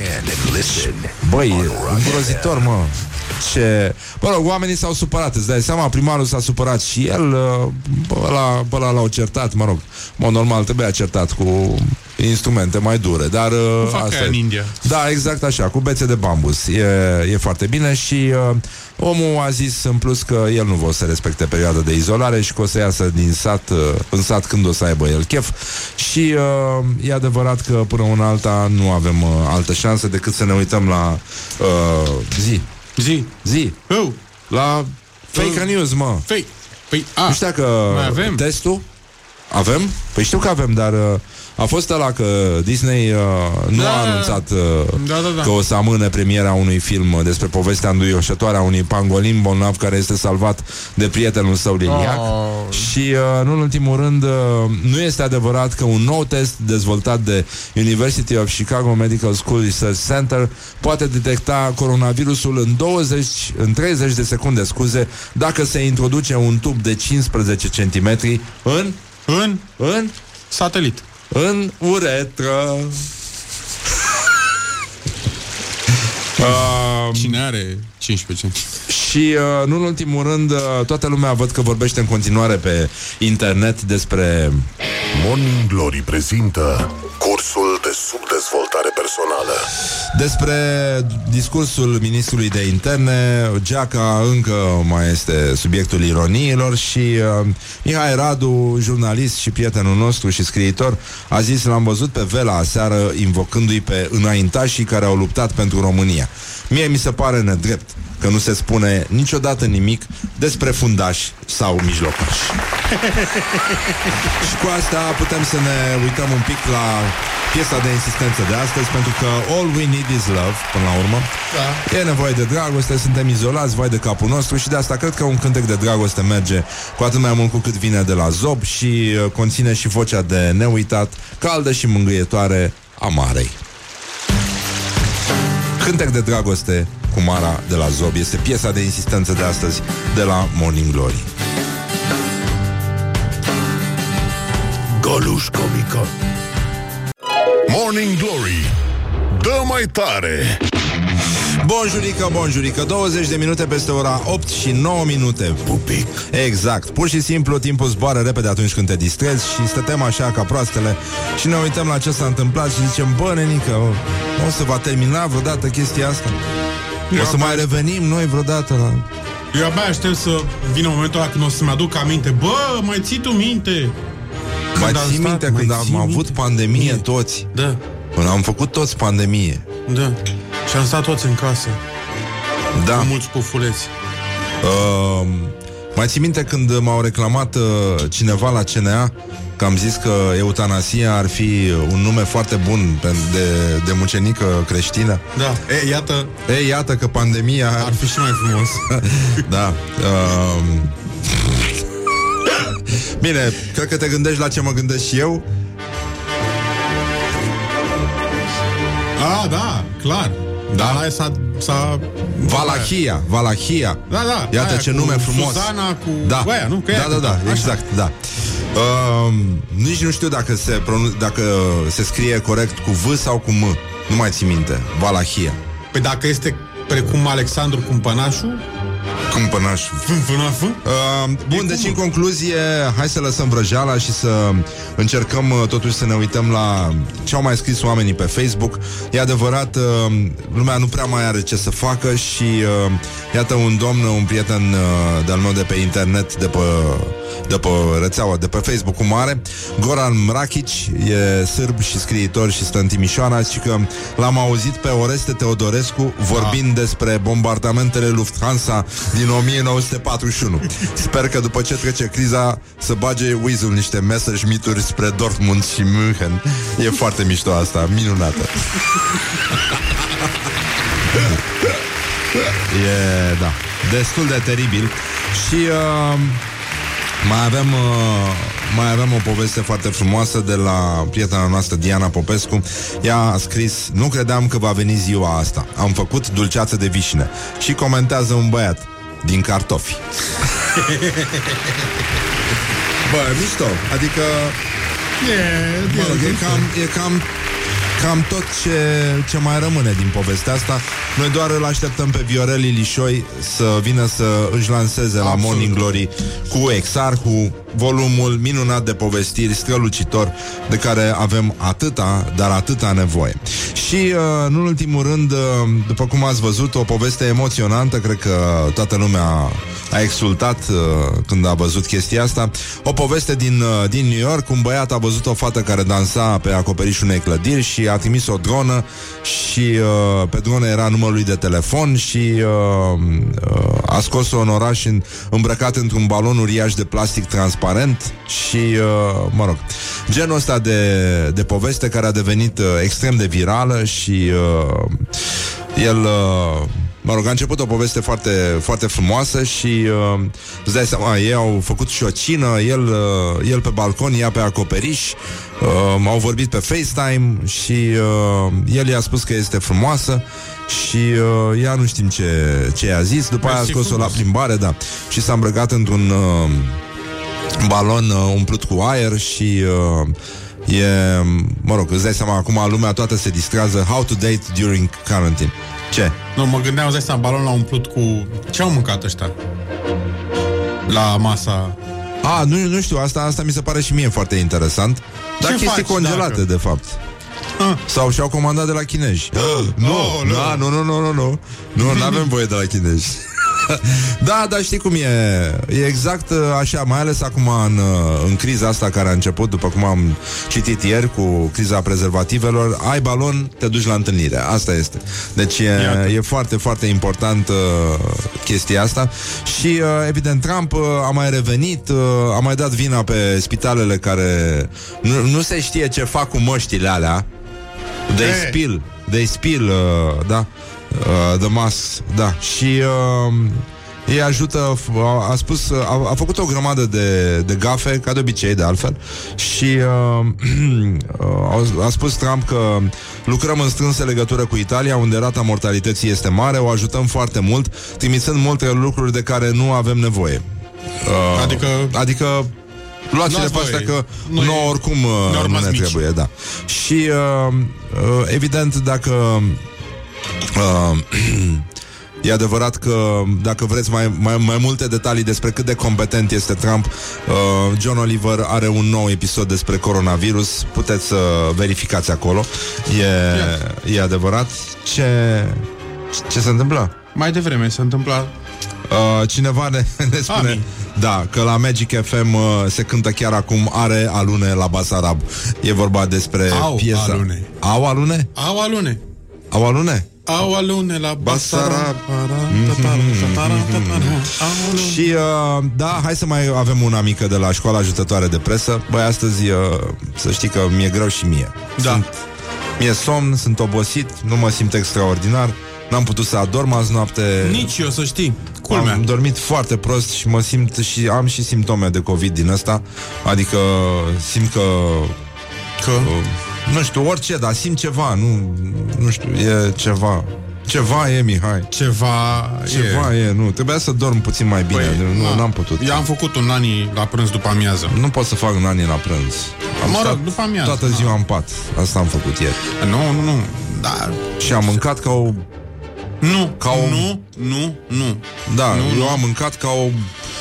Băi, îngrozitor, mă. Ce... Bă, rog, oamenii s-au supărat, îți dai seama, primarul s-a supărat și el, bă, ăla, bă, ăla l-au certat, mă rog. Mă, normal, trebuia certat cu instrumente mai dure, dar... Asta în India. Da, exact așa, cu bețe de bambus. E, e foarte bine și uh, omul a zis în plus că el nu va să respecte perioada de izolare și că o să iasă din sat, uh, în sat când o să aibă el chef și uh, e adevărat că până una alta nu avem uh, altă șansă decât să ne uităm la uh, zi. Zi. Zi. Oh. La fake uh. news, mă. Fake. Păi, a, nu știu că avem testul avem? Păi știu că avem, dar uh, a fost ăla că Disney uh, nu da, a anunțat uh, da, da, da. că o să amâne premiera unui film despre povestea înduioșătoare a unui pangolin bolnav care este salvat de prietenul său liniac. Oh. Și uh, nu în ultimul rând uh, nu este adevărat că un nou test dezvoltat de University of Chicago Medical School Research Center poate detecta coronavirusul în douăzeci, în treizeci de secunde, scuze, dacă se introduce un tub de cincisprezece centimetri în în în satelit. În uretră. uh, Cine are cincisprezece centimetri? Și uh, nu în ultimul rând uh, toată lumea văd că vorbește în continuare pe internet despre Morning Glory prezintă cursul de subdezvoltare personală. Despre discursul ministrului de interne. Geaca încă mai este subiectul ironiilor și uh, Mihai Radu, jurnalist și prietenul nostru și scriitor, a zis, l-am văzut pe Vela aseară invocându-i pe înaintașii care au luptat pentru România. Mie mi se pare nedrept că nu se spune niciodată nimic despre fundași sau mijlocași. Și cu asta putem să ne uităm un pic la piesa de insistență de astăzi, pentru că all we need is love, până la urmă. Da. E nevoie de dragoste, suntem izolați, vai de capul nostru, și de asta cred că un cântec de dragoste merge cu atât mai mult cu cât vine de la Zob și uh, conține și vocea de neuitat, caldă și mângâietoare Amarei. Cântec de dragoste cu Mara de la Zob este piesa de insistență de astăzi de la Morning Glory. Goluș Comică. Morning Glory, dă mai tare. Bonjurică, bonjurică, douăzeci de minute peste ora opt și nouă minute. Pupic. Exact, pur și simplu timpul zboară repede atunci când te distrezi și stătem așa ca proastele și ne uităm la ce s-a întâmplat și zicem, bă, nenică, o, o să va termina vreodată chestia asta? Eu O să mai revenim noi vreodată la... Eu abia aștept să vină momentul ăla când o să-mi aduc aminte. Bă, mai ții tu minte? Mai am ții stat, minte mai când ții am avut minte? pandemie Mie. toți? Da, Când am făcut toți pandemie. da. Și am stat toți în casă Da. cu mulți pufuleți. Uh, mai ții minte când m-au reclamat uh, cineva la C N A că am zis că eutanasia ar fi un nume foarte bun pe- de, de mucenică creștină? Da, e, iată, Ei, iată că pandemia... ar fi și mai frumos. Da. Uh, Bine, cred că te gândești la ce mă gândesc și eu. A, da, clar. Da. Dar aia s-a, s-a... Valahia, Valahia. Da, da. Iată aia ce cu nume frumos. Suzana cu... Da, Cu aia, nu? Că da, ea da, da, cânta. exact, da. Uh, nici nu știu dacă se, pronun- dacă se scrie corect cu V sau cu M. Nu mai țin minte. Valahia. Păi dacă este precum Alexandru Cumpănașu, Cumpănaș. Cumpănașu, Uh, bun, E deci cum? în concluzie, hai să lăsăm vrăjeala și să încercăm uh, totuși să ne uităm la ce au mai scris oamenii pe Facebook. E adevărat, uh, lumea nu prea mai are ce să facă și uh, iată un domn, un prieten uh, de-al meu de pe internet, de pe, de pe rețeaua, de pe Facebook-ul mare, Goran Mrakic, e sârb și scriitor și stă în Timișoara, și că l-am auzit pe Oreste Teodorescu vorbind Ah. despre bombardamentele Lufthansa din o mie nouă sute patruzeci și unu. Sper că după ce trece criza să bage Weasel niște Messerschmitturi spre Dortmund și München. E foarte mișto asta, minunată. E, da, destul de teribil. Și uh, mai avem uh, mai avem o poveste foarte frumoasă de la prietena noastră Diana Popescu. Ea a scris: nu credeam că va veni ziua asta. Am făcut dulceață de vișine. Și comentează un băiat: din cartofi. Bă, mișto. Adică e, mă rog, e cam, e cam Cam tot ce, ce mai rămâne din povestea asta. Noi doar îl așteptăm pe Viorel Ilișoi să vină să își lanseze la Absolut. Morning Glory cu Exarhu, volumul minunat de povestiri, strălucitor, de care avem atâta, dar atâta nevoie. Și, uh, nu în ultimul rând, uh, după cum ați văzut, o poveste emoționantă. Cred că toată lumea a exultat uh, când a văzut chestia asta. O poveste din, uh, din New York. Un băiat a văzut o fată care dansa pe acoperișul unei clădiri și a trimis o dronă și uh, pe dronă era numărul lui de telefon și uh, uh, a scos-o în oraș în, îmbrăcat într-un balon uriaș de plastic transparent și, uh, mă rog, genul ăsta de, de poveste care a devenit uh, extrem de virală și uh, el... Uh, Mă rog, a început o poveste foarte, foarte frumoasă și uh, îți dai seama, ei au făcut și o cină, el, uh, el pe balcon, ea pe acoperiș, uh, au vorbit pe FaceTime și uh, el i-a spus că este frumoasă și uh, ea nu știm ce, ce i-a zis. După aia a scos-o la plimbare, da, și s-a îmbrăcat într-un uh, balon uh, umplut cu aer și... Uh, e, mă rog, îți dai seama, acum lumea toată se distrează. How to date during quarantine. Ce? Nu, mă gândeam, îți dai seama, balon l-a umplut cu... Ce au mâncat ăștia? La masa... A, nu, nu știu, asta, asta mi se pare și mie foarte interesant. Dar Ce chestii faci congelate, dacă? de fapt. Ah. Sau și-au comandat de la chinezi. Nu, Oh, nu, nu. nu, nu, nu, nu, nu. Nu, nu avem voie de la chinezi. Da, dar știi cum e. E exact așa, mai ales acum în, în criza asta care a început, după cum am citit ieri, cu criza prezervativelor. Ai balon, te duci la întâlnire. Asta este. Deci e, e foarte, foarte important uh, chestia asta. Și uh, evident Trump uh, a mai revenit, uh, a mai dat vina pe spitalele care nu, nu se știe ce fac cu măștile alea. They Hey. spill They spill, uh, da, uh, the mask, da. Și uh, ei ajută, a, a spus, a, a făcut o grămadă de, de gafe, ca de obicei, de altfel, și uh, a spus Trump că lucrăm în strânsă legătură cu Italia, unde rata mortalității este mare, o ajutăm foarte mult, trimițând multe lucruri de care nu avem nevoie. Uh, adică... Adică luați-le pe astea că noi, nouă oricum uh, nu ne mici. trebuie, da. Și uh, uh, evident, dacă uh, e adevărat că dacă vreți mai, mai, mai multe detalii despre cât de competent este Trump, uh, John Oliver are un nou episod despre coronavirus, puteți să uh, verificați acolo. E, e adevărat. Ce, ce se întâmplă? Mai devreme se întâmplă. Uh, cineva ne, ne spune Ami. Da, că la Magic F M uh, se cântă chiar acum Are alune la Basarab. E vorba despre Au piesa alune. Au alune? Au alune. Au alune? Au alune la Basarab. Și uh, da, hai să mai avem una mică de la Școala Ajutătoare de Presă. Băi, astăzi uh, să știi că mi-e greu și mie. Da. Sunt, mi-e somn, sunt obosit, nu mă simt extraordinar. N-am putut să adorm azi noapte. Nici eu, să știi. Culmea. Am dormit foarte prost și mă simt și am și simptome de COVID din ăsta. Adică simt că Că? uh, nu știu, orice, dar simt ceva. Nu, nu știu, e ceva. Ceva e, Mihai. Ceva, Ceva e, e nu. Trebuia să dorm puțin mai bine. Păi, nu, na, n-am putut. Eu am făcut un nani la prânz după amiază. Nu pot să fac un nani la prânz. Am mă rog, stat după amiază. toată ziua în pat. Asta am făcut ieri. Nu, nu, nu. Da. Și am mâncat ca o... Nu, ca o... nu, nu, nu. Da, nu, eu nu. am mâncat ca o...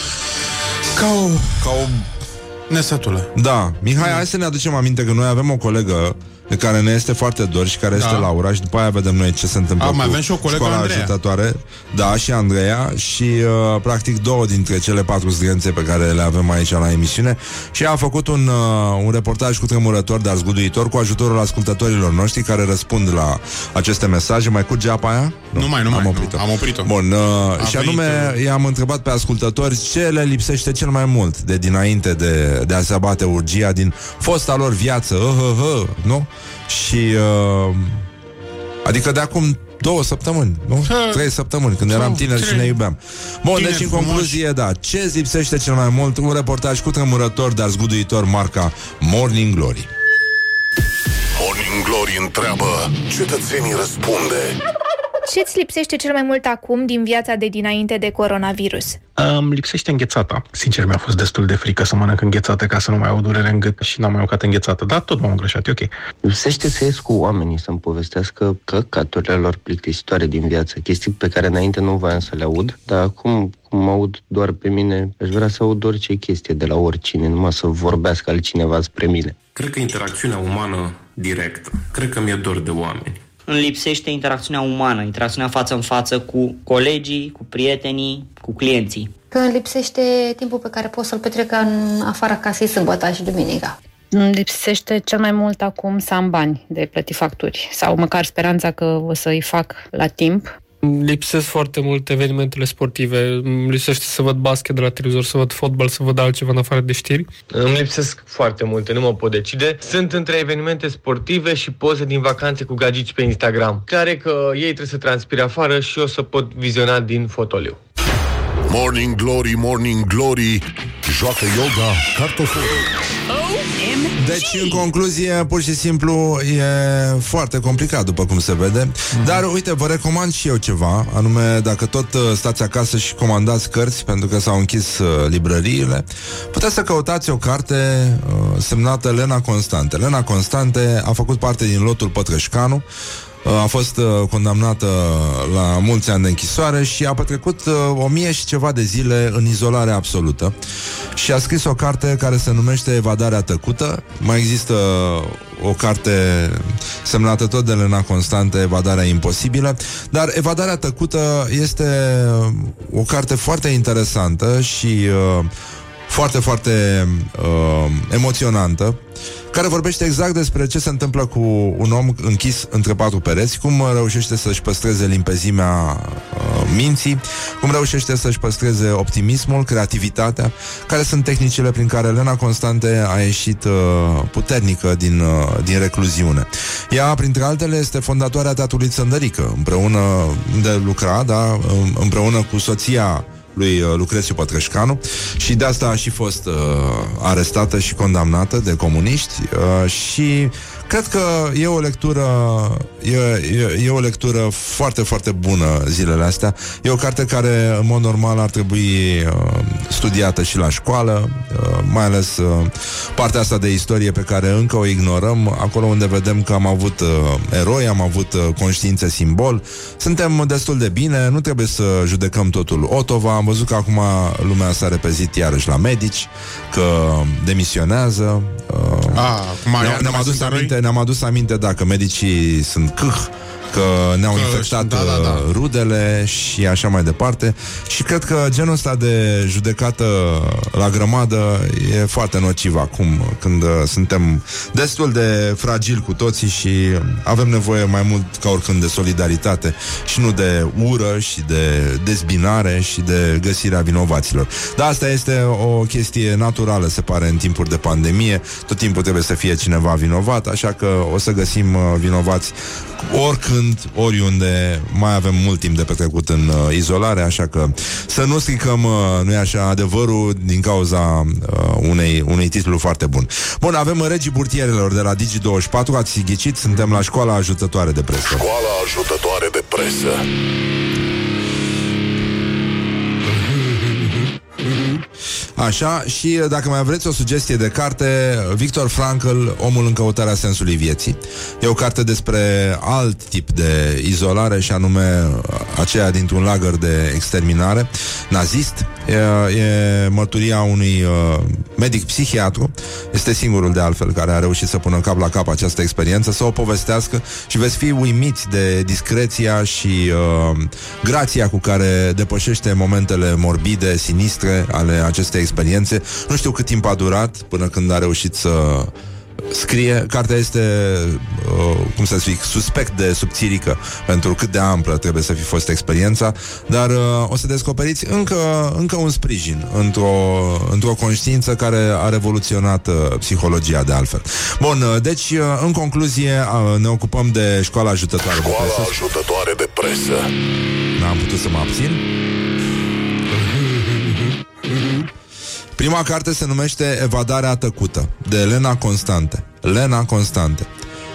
Ca o... Ca o... nesătulă. Da, Mihai, hai să ne aducem aminte că noi avem o colegă de care ne este foarte dor și care da. este Laura și după aia vedem noi ce se întâmplă. A, cu mai avem și o colegă, Școala Andreea. Ajutătoare. Da, și Andreea și uh, practic două dintre cele patru zdrențe pe care le avem aici la emisiune. Și a făcut un, uh, un reportaj cu tremurător, dar zguduitor, cu ajutorul ascultătorilor noștri care răspund la aceste mesaje. Mai curge apa aia? Nu, nu mai, nu am mai, oprit-o. nu, am oprit-o. Bun, uh, și anume venit, i-am întrebat pe ascultători ce le lipsește cel mai mult de dinainte de, de a se abate urgia din fosta lor viață, uh, uh, uh, nu? Și uh, adică de acum două săptămâni, nu? Trei săptămâni, când eram tineri și ne iubeam. Bun, Tineri deci în frumoși. concluzie, da, ce îți lipsește cel mai mult? Un reportaj cu tremurător, dar zguduitor, marca Morning Glory. Morning Glory întreabă, cetățenii răspunde. Ce-ți lipsește cel mai mult acum din viața de dinainte de coronavirus? Îmi lipsește înghețata. Sincer, mi-a fost destul de frică să mănânc înghețată ca să nu mai au durere în gât și n-am mai mâncat înghețată, dar tot m-am îngrășat, e ok. Lipsește să ies cu oamenii, să-mi povestească căcaturile lor plictisitoare din viață, chestii pe care înainte nu voiam să le aud, dar acum, cum mă aud doar pe mine, aș vrea să aud orice chestie de la oricine, numai să vorbească altcineva spre mine. Cred că interacțiunea umană directă. Cred că mi-e dor de oameni. Îmi lipsește interacțiunea umană, interacțiunea față în față cu colegii, cu prietenii, cu clienții. Că îmi lipsește timpul pe care pot să-l petrec în afara casei sâmbătă și duminica. Îmi lipsește cel mai mult acum să am bani de plăti facturi sau măcar speranța că o să-i fac la timp. Îmi lipsesc foarte mult evenimentele sportive. Îmi lipsește să văd basket de la televizor, să văd fotbal, să văd altceva în afară de știri. Îmi lipsesc foarte multe, nu mă pot decide. Sunt între evenimente sportive și poze din vacanțe cu gagici pe Instagram. Care că ei trebuie să transpire afară și eu să pot viziona din fotoliu. Morning Glory, Morning Glory, joacă yoga cartoforii. Deci, în concluzie, pur și simplu e foarte complicat, după cum se vede. Mm-hmm. Dar, uite, vă recomand și eu ceva, anume, dacă tot uh, stați acasă și comandați cărți, pentru că s-au închis uh, librăriile, puteți să căutați o carte uh, semnată Lena Constante. Lena Constante a făcut parte din lotul Pătrășcanu, a fost uh, condamnată la mulți ani de închisoare și a petrecut uh, o mie și ceva de zile în izolare absolută și a scris o carte care se numește Evadarea tăcută. Mai există o carte semnată tot de Lena Constante, Evadarea imposibilă, dar Evadarea tăcută este o carte foarte interesantă și uh, foarte, foarte uh, emoționantă, care vorbește exact despre ce se întâmplă cu un om închis între patru pereți, cum reușește să-și păstreze limpezimea uh, minții, cum reușește să-și păstreze optimismul, creativitatea, care sunt tehnicile prin care Lena Constante a ieșit uh, puternică din, uh, din recluziune. Ea, printre altele, este fondatoarea Teatrului Țăndărică, împreună de lucra, da, împreună cu soția lui Lucrețiu Pătrășcanu, și de asta a și fost uh, arestată și condamnată de comuniști uh, și cred că e o lectură e, e, e o lectură foarte, foarte bună zilele astea. E o carte care, în mod normal, ar trebui uh, studiată și la școală, uh, mai ales uh, partea asta de istorie pe care încă o ignorăm, acolo unde vedem că am avut uh, eroi, am avut uh, conștiințe simbol. Suntem destul de bine, nu trebuie să judecăm totul Otova. Am văzut că acum lumea s-a repezit iarăși la medici, că demisionează. Uh, A, ne, ne-am adus aminte Ne-am adus aminte, da, că medicii sunt câh, că ne-au că, infectat da, da, da. rudele și așa mai departe. Și cred că genul ăsta de judecată la grămadă e foarte nociv acum, când suntem destul de fragili cu toții și avem nevoie mai mult ca oricând de solidaritate și nu de ură și de dezbinare și de găsirea vinovaților. Dar asta este o chestie naturală, se pare, în timpuri de pandemie. Tot timpul trebuie să fie cineva vinovat, așa că o să găsim vinovați oricând, oriunde. Mai avem mult timp de petrecut în uh, izolare, așa că să nu stricăm, uh, nu-i așa, adevărul din cauza uh, unei, unui titlu foarte bun. Bun, avem Regii Burtierelor de la Digi douăzeci și patru. Ați ghicit, suntem la Școala Ajutătoare de Presă. Școala Ajutătoare de Presă. Așa, și dacă mai vreți o sugestie de carte, Viktor Frankl, Omul în căutarea sensului vieții. E o carte despre alt tip de izolare, și anume aceea dintr-un lagăr de exterminare nazist. E, e mărturia unui uh, medic psihiatru. Este singurul, de altfel, care a reușit să pună cap la cap această experiență, să o povestească, și veți fi uimiți de discreția și uh, grația cu care depășește momentele morbide, sinistre ale acestei experiențe. Nu știu cât timp a durat până când a reușit să scrie. Cartea este, uh, cum să zic, suspect de subțirică pentru cât de amplă trebuie să fi fost experiența, dar uh, o să descoperiți încă, încă un sprijin într-o, într-o conștiință care a revoluționat uh, psihologia, de altfel. Bun, uh, deci, uh, în concluzie, uh, ne ocupăm de Școala Ajutătoare Școala de Presă. Ajutătoare de Presă. N-am putut să mă abțin. Prima carte se numește Evadarea tăcută, de Lena Constante. Lena Constante.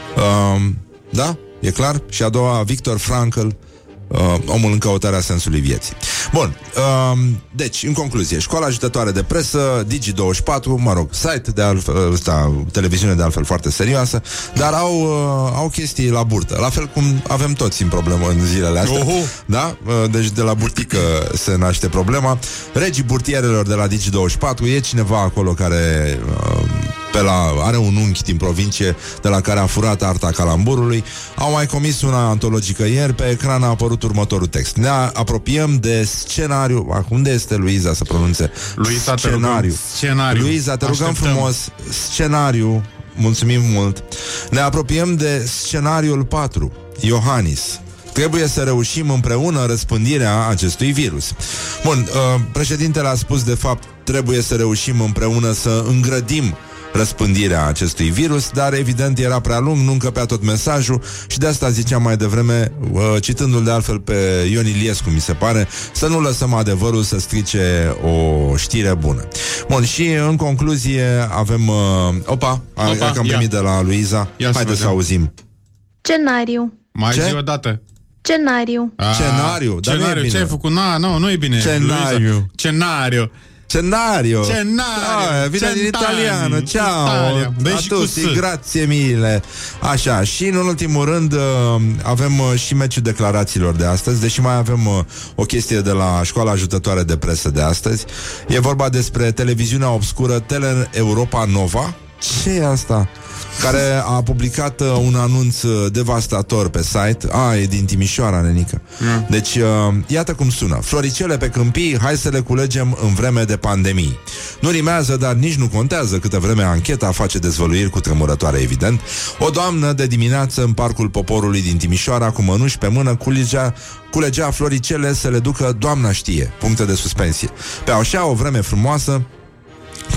Um, da? E clar? Și a doua, Viktor Frankl, uh, Omul în căutarea sensului vieții. Bun, um, deci, în concluzie, Școala Ajutătoare de Presă, Digi douăzeci și patru, mă rog, site de altfel, ăsta, televiziune de altfel foarte serioasă, dar au, uh, au chestii la burtă, la fel cum avem toți în problemă în zilele astea. Oho. Da? Uh, deci de la burtică se naște problema. Regii Burtierelor de la Digi douăzeci și patru, e cineva acolo care... Uh, pe la, are un unchi din provincie de la care a furat arta calamburului. Au mai comis una antologică ieri. Pe ecran a apărut următorul text: ne apropiem de scenariu. Unde este Luiza să pronunțe? Luiza, scenariu. Te scenariu. Luiza, te rugăm Așteptăm. frumos. Scenariu. Mulțumim mult. Ne apropiem de scenariul patru. Iohannis. Trebuie să reușim împreună răspândirea acestui virus. Bun, uh, președintele a spus, de fapt, trebuie să reușim împreună să îngrădim răspândirea acestui virus, dar evident era prea lung, nu încăpea tot mesajul și de asta ziceam mai devreme, uh, citându-l de altfel pe Ion Iliescu, mi se pare, să nu lăsăm adevărul să strice o știre bună. Bun, și în concluzie avem... Uh, opa, opa, că am primit de la Luiza. Haideți să, să auzim. Scenariu. Mai Ce? zi o dată. Scenariu. A, Scenariu, dar Scenariu, nu e bine. ce ai făcut? Na, nu, nu e bine. Scenariu. Luiza. Scenariu. Scenario. Scenario. Ah, vine din italiano. Ciao. Dă A și cu tutti, S. grazie mille. Așa, și în ultimul rând uh, avem uh, și meciul declarațiilor de astăzi, deși mai avem uh, o chestie de la Școala Ajutătoare de Presă de astăzi. E vorba despre televiziunea obscură Tele Europa Nova. Ce e asta? Care a publicat uh, un anunț uh, devastator pe site. A, e din Timișoara, nenică. mm. Deci, uh, iată cum sună: floricele pe câmpii, hai să le culegem în vreme de pandemii. Nu rimează, dar nici nu contează, câtă vreme ancheta face dezvăluiri cu tremurătoare, evident. O doamnă de dimineață în Parcul Poporului din Timișoara, cu mănuși pe mână, culegea, culegea floricele să le ducă doamna știe. Puncte de suspensie. Pe așa o vreme frumoasă,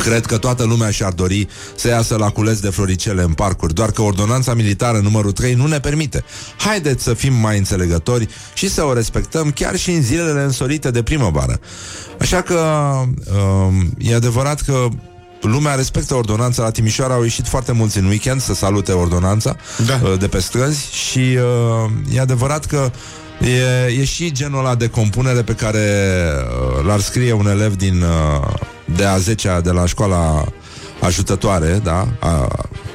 Cred că toată lumea și-ar dori să iasă la cules de floricele în parcuri, doar că ordonanța militară numărul trei nu ne permite. Haideți să fim mai înțelegători și să o respectăm chiar și în zilele însorite de primăvară. Așa că um, e adevărat că lumea respectă ordonanța. La Timișoara au ieșit foarte mulți în weekend să salute ordonanța, da, de pe străzi și uh, e adevărat că e, e și genul ăla de compunere pe care uh, l-ar scrie un elev din uh, de a zecea de la școala ajutătoare, da? A,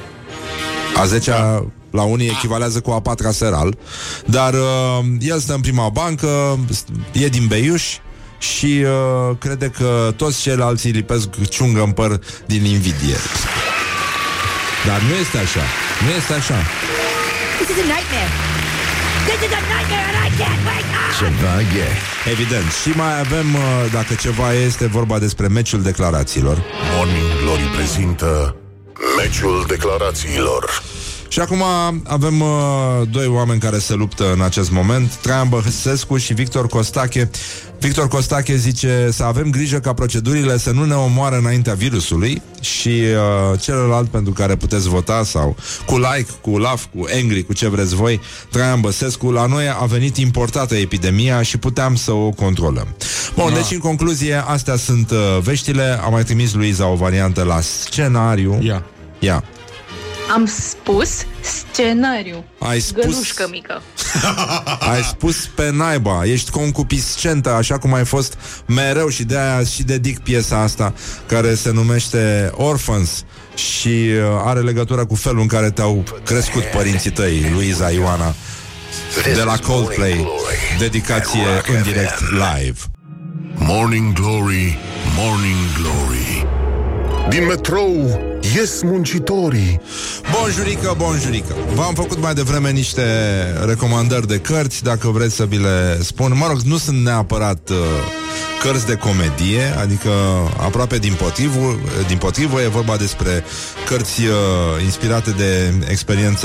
a zecea la unii echivalează cu a patra seral, dar uh, el stă în prima bancă, e din Beiuș și uh, crede că toți ceilalți lipesc ciungă în păr din invidie. Dar nu este așa. Nu este așa. This is a nightmare. This is a nightmare and I can't wake up. Ceva e. Evident. Și mai avem, uh, dacă ceva este vorba despre meciul declarațiilor. Morning Glory prezintă meciul declarațiilor. Și acum avem uh, doi oameni care se luptă în acest moment, Traian Băsescu și Victor Costache. Victor Costache zice să avem grijă ca procedurile să nu ne omoară înaintea virusului și uh, celălalt pentru care puteți vota sau cu like, cu love, cu angry, cu ce vreți voi, Traian Băsescu, la noi a venit importată epidemia și puteam să o controlăm. Bun, da. Deci în concluzie, astea sunt uh, veștile. Am mai trimis Luiza o variantă la scenariu. Ia. Ia. Am spus scenariu. Ai spus... Gălușcă mică. Ai spus pe naiba. Ești concupiscentă, așa cum ai fost mereu. Și de aia și dedic piesa asta, care se numește Orphans și uh, are legătură cu felul în care te-au crescut părinții tăi, Luiza Ioana, de la Coldplay. Dedicație în direct live. Morning Glory, Morning Glory. Din metrou ies muncitorii. Bonjurică, bonjurică. V-am făcut mai devreme niște recomandări de cărți, dacă vreți să vi le spun. Mă rog, nu sunt neapărat uh, cărți de comedie, adică aproape din potrivă, din potrivă, e vorba despre cărți uh, inspirate de experiența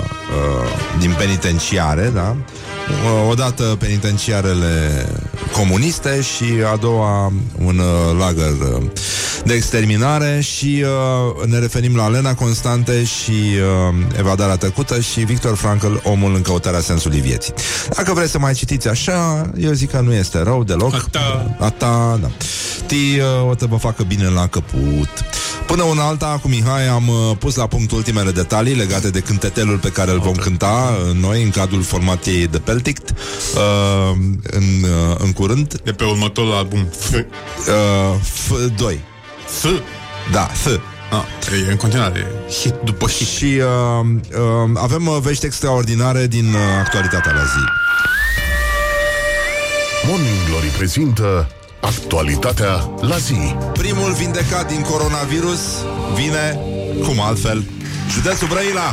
uh, din penitenciare, da? Odată penitenciarele comuniste și a doua un uh, lagăr uh, de exterminare și uh, ne referim la Lena Constante și uh, Evadarea tăcută și Victor Frankl, Omul în căutarea sensului vieții. Dacă vreți să mai citiți așa, eu zic că nu este rău deloc. Ata, Ata da. Ti uh, o să vă facă bine la căput. Până una alta, cu Mihai am uh, pus la punct ultimele detalii legate de cântetelul pe care îl vom cânta uh, noi în cadrul formatiei de Peltict uh, în, uh, în curând. De pe următorul album F. Uh, F doi. F? Da, F. Ah, e în continuare hit după hit. Și uh, uh, avem uh, vești extraordinare din uh, actualitatea la zi. Morning Glory prezintă actualitatea la zi. Primul vindecat din coronavirus vine, cum altfel, județul Brăila.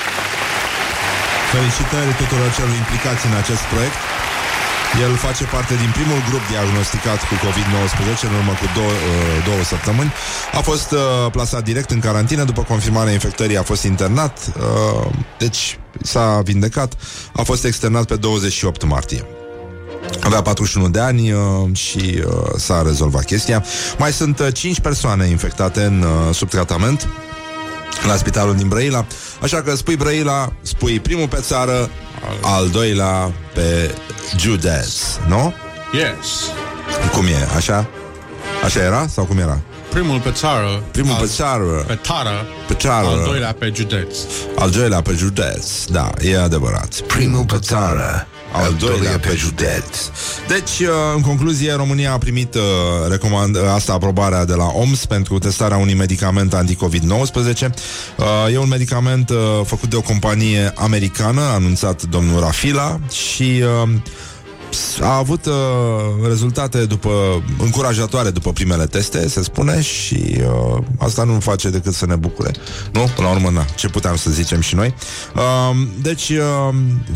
Felicitări tuturor celor implicați în acest proiect. El face parte din primul grup diagnosticat cu covid nouăsprezece în urmă cu două, uh, două săptămâni. A fost uh, plasat direct în carantină. După confirmarea infectării a fost internat, uh, deci s-a vindecat. A fost externat pe douăzeci și opt martie. Avea patruzeci și unu de ani uh, și uh, s-a rezolvat chestia. Mai sunt uh, cinci persoane infectate în uh, sub tratament la spitalul din Brăila. Așa că spui Brăila, spui primul pe țară, al doilea pe județ, nu? Yes. Cum e? Așa? Așa era? Sau cum era? Primul pe țară, Primul pe țară, pe tară, pe țară, al doilea pe județ. Al doilea pe județ, da, e adevărat. Primul pe țară, al doilea pe județ. Deci, în concluzie, România a primit uh, recomand, asta aprobarea de la O M S pentru testarea unui medicament anti-covid nouăsprezece. Uh, e un medicament uh, făcut de o companie americană, a anunțat domnul Rafila și uh, a avut uh, rezultate după încurajatoare după primele teste, se spune, și uh, asta nu face decât să ne bucure. Nu? Până la urmă, na, ce puteam să zicem și noi. Uh, deci... Uh,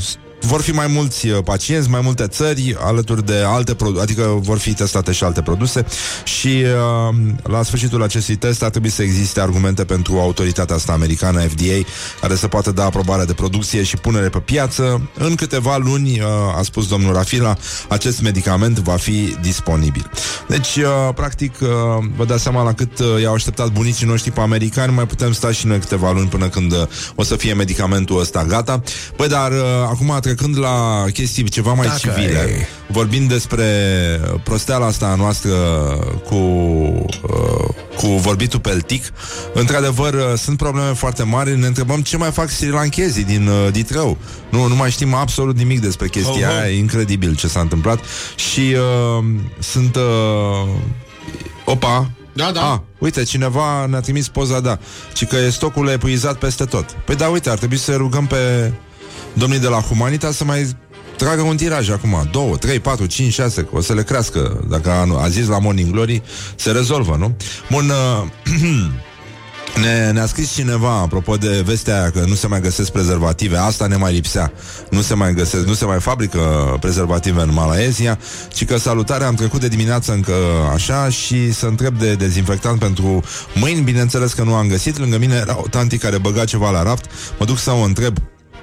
vor fi mai mulți pacienți, mai multe țări, alături de alte produse, adică vor fi testate și alte produse și uh, la sfârșitul acestui test ar trebui să existe argumente pentru autoritatea asta americană, F D A, care să poată da aprobare de producție și punere pe piață. În câteva luni, uh, a spus domnul Rafila, acest medicament va fi disponibil. Deci, uh, practic, uh, vă dați seama la cât uh, i-au așteptat bunicii noștri pe americani, mai putem sta și noi câteva luni până când uh, o să fie medicamentul ăsta gata. Păi, dar uh, acum trecând la chestii ceva mai Dacă civile, e. vorbind despre prosteala asta noastră cu, uh, cu vorbitul peltic, într-adevăr, uh, sunt probleme foarte mari. Ne întrebăm ce mai fac srilanchezii din uh, Ditrău. Nu, nu mai știm absolut nimic despre chestia oh, aia. E incredibil ce s-a întâmplat. Și uh, sunt uh, opa Da, da. Ah, uite, cineva ne-a trimis poza, da, ci că e stocul epuizat peste tot. Păi da, uite, ar trebui să rugăm pe domnii de la Humanitas să mai tragă un tiraj acum, două, trei, patru, cinci, șase, că o să le crească. Dacă a, a zis la Morning Glory, se rezolvă, nu? Bun, uh, ne, ne-a scris cineva apropo de vestea aia că nu se mai găsesc prezervative. Asta ne mai lipsea. Nu se mai găsesc, nu se mai fabrică prezervative în Malaezia, ci că salutare, am trecut de dimineață încă așa și să întreb de dezinfectant pentru mâini. Bineînțeles că nu am găsit. Lângă mine era o tanti care băga ceva la raft. Mă duc să o întreb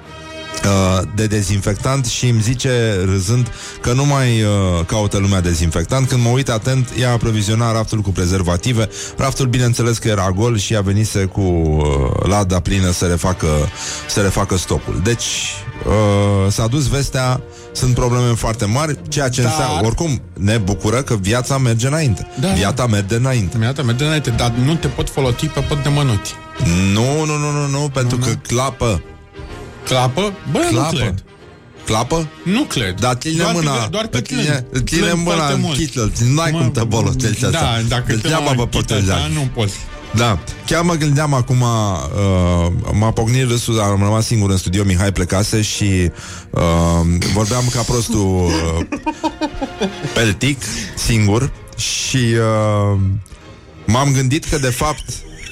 de dezinfectant și îmi zice, râzând, că nu mai uh, caută lumea dezinfectant. Când mă uit atent, ea aproviziona raftul cu prezervative. Raftul, bineînțeles că era gol și ea venise cu uh, lada plină să refacă, să refacă stocul. Deci uh, s-a dus vestea, sunt probleme foarte mari, ceea ce dar... înseamnă, oricum, ne bucură că viața merge înainte. Da. Viața merge înainte. Viața merge înainte, dar nu te pot folosi pe pot de mănuți. Nu, nu, nu, nu, nu, pentru nu, că nu. clapă. Clapă? Bă, clapă. nu cred. Clapă? Nu cred. Dar ține mâna. Doar că ține, ține mâna în chitlă. N-ai cum te bolotești așa. Da, dacă te mă vă proteja. Nu poți. Da, chiar mă gândeam acum, uh, m-a pocnit râsul, am rămas singur în studio, Mihai plecase și uh, vorbeam ca prostul uh, peltic, singur, și uh, m-am gândit că de fapt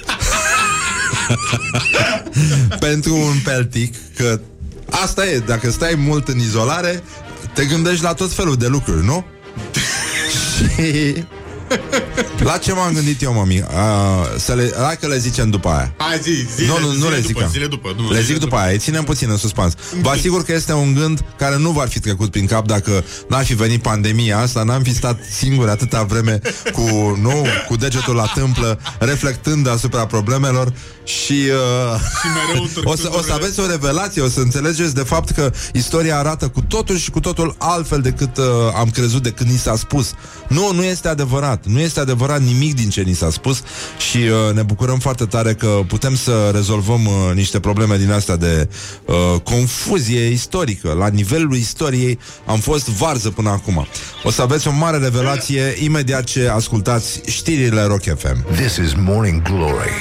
pentru un peltic, că asta e, dacă stai mult în izolare, te gândești la tot felul de lucruri, nu? Și la ce m-am gândit eu, mami? Uh, să le, hai că le zicem după aia. Hai, zi, zile, nu, nu, nu zile le după, zic zile după, nu, le zic zile după aia, ținem puțin în suspans. Vă asigur că este un gând care nu v-ar fi trecut prin cap dacă n-ar fi venit pandemia asta, n-am fi stat singuri atâta vreme cu, nu, cu degetul la tâmplă, reflectând asupra problemelor. Și, uh, și o, să, o să aveți o revelație, o să înțelegeți de fapt că istoria arată cu totul și cu totul altfel decât uh, am crezut, decât ni s-a spus. Nu, nu este adevărat. Nu este adevărat nimic din ce ni s-a spus. Și uh, ne bucurăm foarte tare că putem să rezolvăm uh, niște probleme din astea de uh, confuzie istorică. La nivelul istoriei am fost varză până acum. O să aveți o mare revelație imediat ce ascultați știrile Rock F M. This is Morning Glory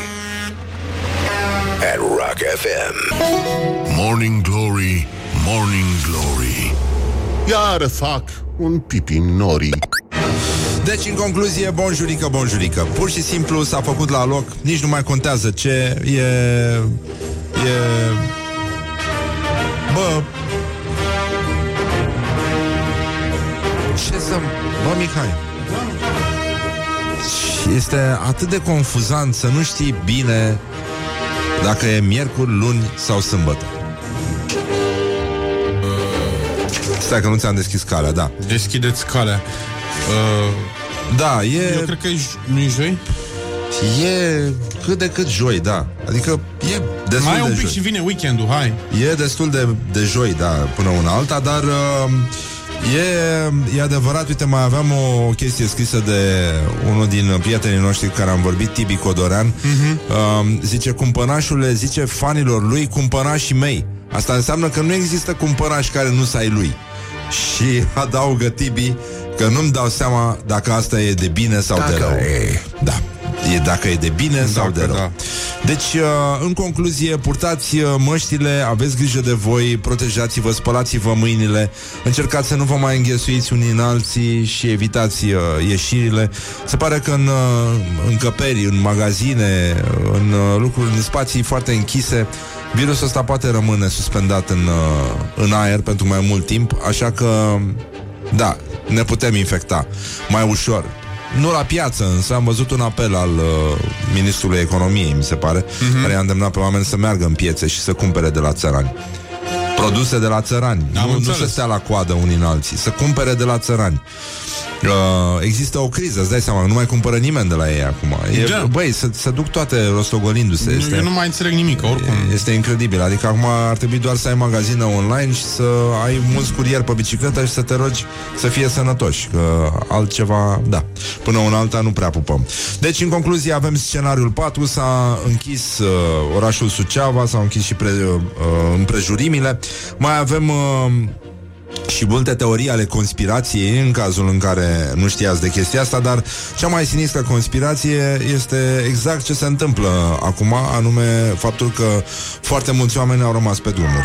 at Rock F M. Morning Glory, Morning Glory. Iar fac un pipi nori. Deci, în concluzie, bonjurică, bonjurică. Pur și simplu s-a făcut la loc. Nici nu mai contează ce e... E... Bă... Ce să... Bă, Mihai, este atât de confuzant să nu știi bine dacă e miercuri, luni sau sâmbătă. Stai că nu ți-am deschis calea, da. Deschideți calea. uh, Da, e... Eu cred că e, nu e joi? E cât de cât joi, da. Adică e destul mai de un pic joi. și vine weekendul, hai. E destul de, de joi, da, până una alta. Dar uh, e, e adevărat. Uite, mai aveam o chestie scrisă de unul din prietenii noștri cu care am vorbit, Tibi Codorean. uh-huh. uh, Zice, cumpănașule, zice fanilor lui, cumpănașii mei. Asta înseamnă că nu există cumpănași care nu să ai lui. Și adaugă Tibi că nu-mi dau seama dacă asta e de bine sau dacă de rău. E. Da. E dacă e de bine dacă, sau de rău. Da. Deci, în concluzie, purtați măștile, aveți grijă de voi, protejați-vă, spălați-vă mâinile, încercați să nu vă mai înghesuiți unii în alții și evitați ieșirile. Se pare că în încăperi, în magazine, în lucruri, în spații foarte închise, virusul ăsta poate rămâne suspendat în, în aer pentru mai mult timp, așa că, da, ne putem infecta mai ușor. Nu la piață, însă am văzut un apel al uh, Ministrului Economiei, mi se pare, uh-huh. care i-a îndemnat pe oameni să meargă în piețe și să cumpere de la țărani. Produse de la țărani. Nu, nu să stea la coadă unii în alții, să cumpere de la țărani. Uh, există o criză, îți dai seama, nu mai cumpără nimeni de la ei acum. E, da. Băi, se, se duc toate rostogolindu-se. Este, Eu nu mai înțeleg nimic, oricum. Este incredibil. Adică acum ar trebui doar să ai magazină online și să ai mulți curieri pe bicicletă și să te rogi să fie sănătoși. Că altceva, da. Până una alta nu prea pupăm. Deci, în concluzie, avem scenariul patru. S-a închis uh, orașul Suceava, s-au închis și pre, uh, împrejurimile. Mai avem... Uh, și multe teorii ale conspirației în cazul în care nu știați de chestia asta, dar cea mai sinistră conspirație este exact ce se întâmplă acum, anume faptul că foarte mulți oameni au rămas pe drumuri.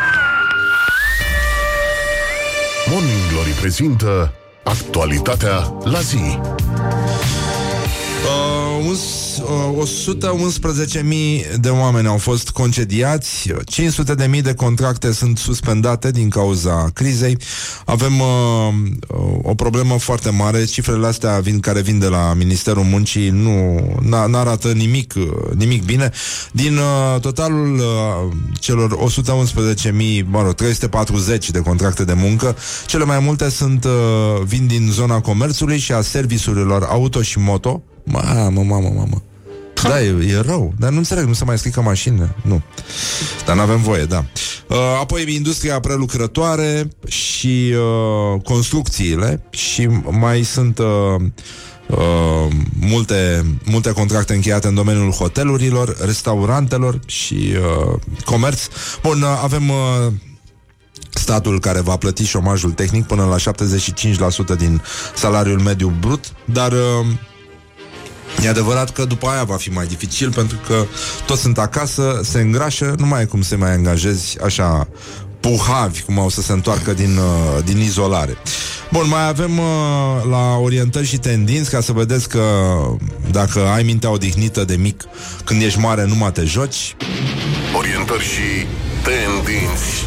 Morning Glory prezintă actualitatea la zi. Uh, uns, uh, o sută unsprezece mii de oameni au fost concediați, cinci sute de mii de contracte sunt suspendate din cauza crizei. Avem uh, o problemă foarte mare. Cifrele astea vin, care vin de la Ministerul Muncii nu n-arată nimic, nimic bine. Din uh, totalul uh, celor o sută unsprezece mii, mă rog, trei sute patruzeci de contracte de muncă, cele mai multe sunt uh, vin din zona comerțului și a serviciurilor auto și moto. Mamă, mamă, mamă. Da, e, e rău, dar nu înțeleg, nu se mai strică mașinile. Nu. Dar n-avem voie, da. uh, Apoi industria prelucrătoare și uh, construcțiile. Și mai sunt uh, uh, multe, multe contracte încheiate în domeniul hotelurilor, restaurantelor și uh, comerț. Bun, uh, avem... Uh, statul care va plăti șomajul tehnic până la șaptezeci și cinci la sută din salariul mediu brut, dar uh, e adevărat că după aia va fi mai dificil, pentru că toți sunt acasă, se îngrașă, nu mai e cum să mai angajezi așa puhavi, cum au să se întoarcă din, uh, din izolare. Bun, mai avem uh, la orientări și tendinți, ca să vedeți că dacă ai mintea odihnită de mic, când ești mare nu mai te joci. Orientări și tendinți.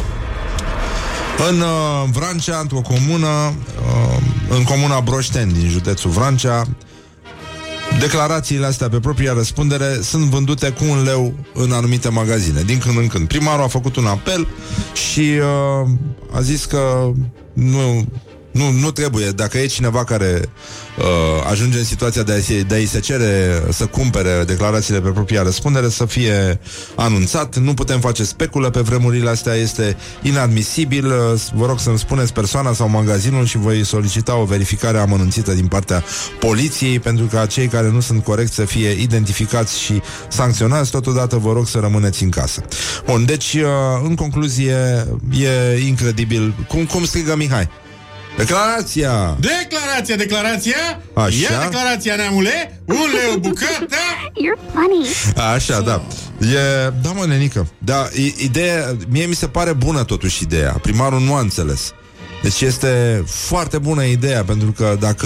În uh, Vrancea, într-o comună, uh, în comuna Broșteni, din județul Vrancea, declarațiile astea pe propria răspundere sunt vândute cu un leu în anumite magazine, din când în când. Primarul a făcut un apel și uh, a zis că nu... Nu, nu trebuie, dacă e cineva care uh, ajunge în situația de a, de a-i se cere să cumpere declarațiile pe propria răspundere, să fie anunțat. Nu putem face speculă pe vremurile astea, este inadmisibil. Vă rog să-mi spuneți persoana sau magazinul și voi solicita o verificare amănunțită din partea poliției, pentru ca cei care nu sunt corecți să fie identificați și sancționați. Totodată vă rog să rămâneți în casă. Bun, deci uh, în concluzie e incredibil. Cum, cum strigă Mihai? Declarația! Declarația, declarația! Așa? Ia declarația, neamule! Un leu bucată! You're funny! Așa, da. E, da, mă, nenică. Da, ideea, mie mi se pare bună totuși ideea. Primarul nu a înțeles. Deci este foarte bună ideea, pentru că dacă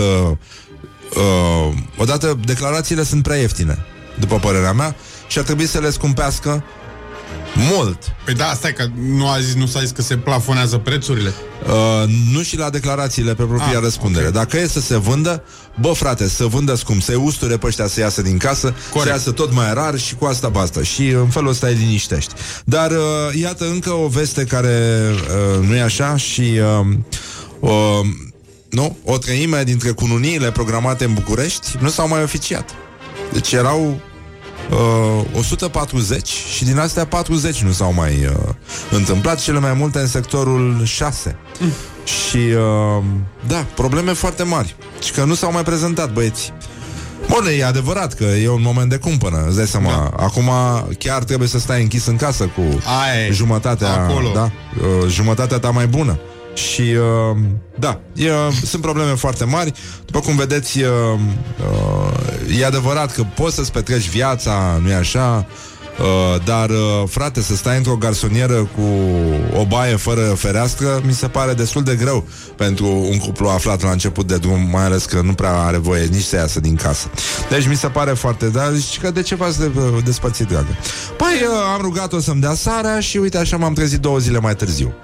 uh, odată declarațiile sunt prea ieftine, după părerea mea, și ar trebui să le scumpească mult. Păi da, stai că nu a zis, nu s-a zis că se plafonează prețurile. Uh, nu și la declarațiile pe propria ah, răspundere. Okay. Dacă e să se vândă, bă frate, să vândă scump, să-i usture pe ăștia să iasă din casă, corect, să iasă tot mai rar și cu asta basta. Și în felul ăsta îi liniștești. Dar uh, iată încă o veste care uh, nu e așa și uh, uh, nu, o treime dintre cununiile programate în București nu s-au mai oficiat. Deci erau Uh, o sută patruzeci și din astea patruzeci nu s-au mai uh, întâmplat, cele mai multe în sectorul șase. Mm. Și uh, da, probleme foarte mari. Și că nu s-au mai prezentat băieți. Bun, e adevărat că e un moment de cumpănă, îți dai seama. Da. Acum chiar trebuie să stai închis în casă cu Aie, jumătatea, da, uh, jumătatea ta mai bună. Și uh, da, e, sunt probleme foarte mari. După cum vedeți, uh, uh, e adevărat că poți să-ți petreci viața, nu-i așa? Uh, dar, uh, frate, să stai într-o garsonieră cu o baie fără fereastră mi se pare destul de greu pentru un cuplu aflat la început de drum, mai ales că nu prea are voie nici să iasă din casă. Deci mi se pare foarte... Dar zici că de ce v-ați de, despărțit, dragă? Păi, uh, am rugat-o să-mi dea sarea și uite așa m-am trezit două zile mai târziu.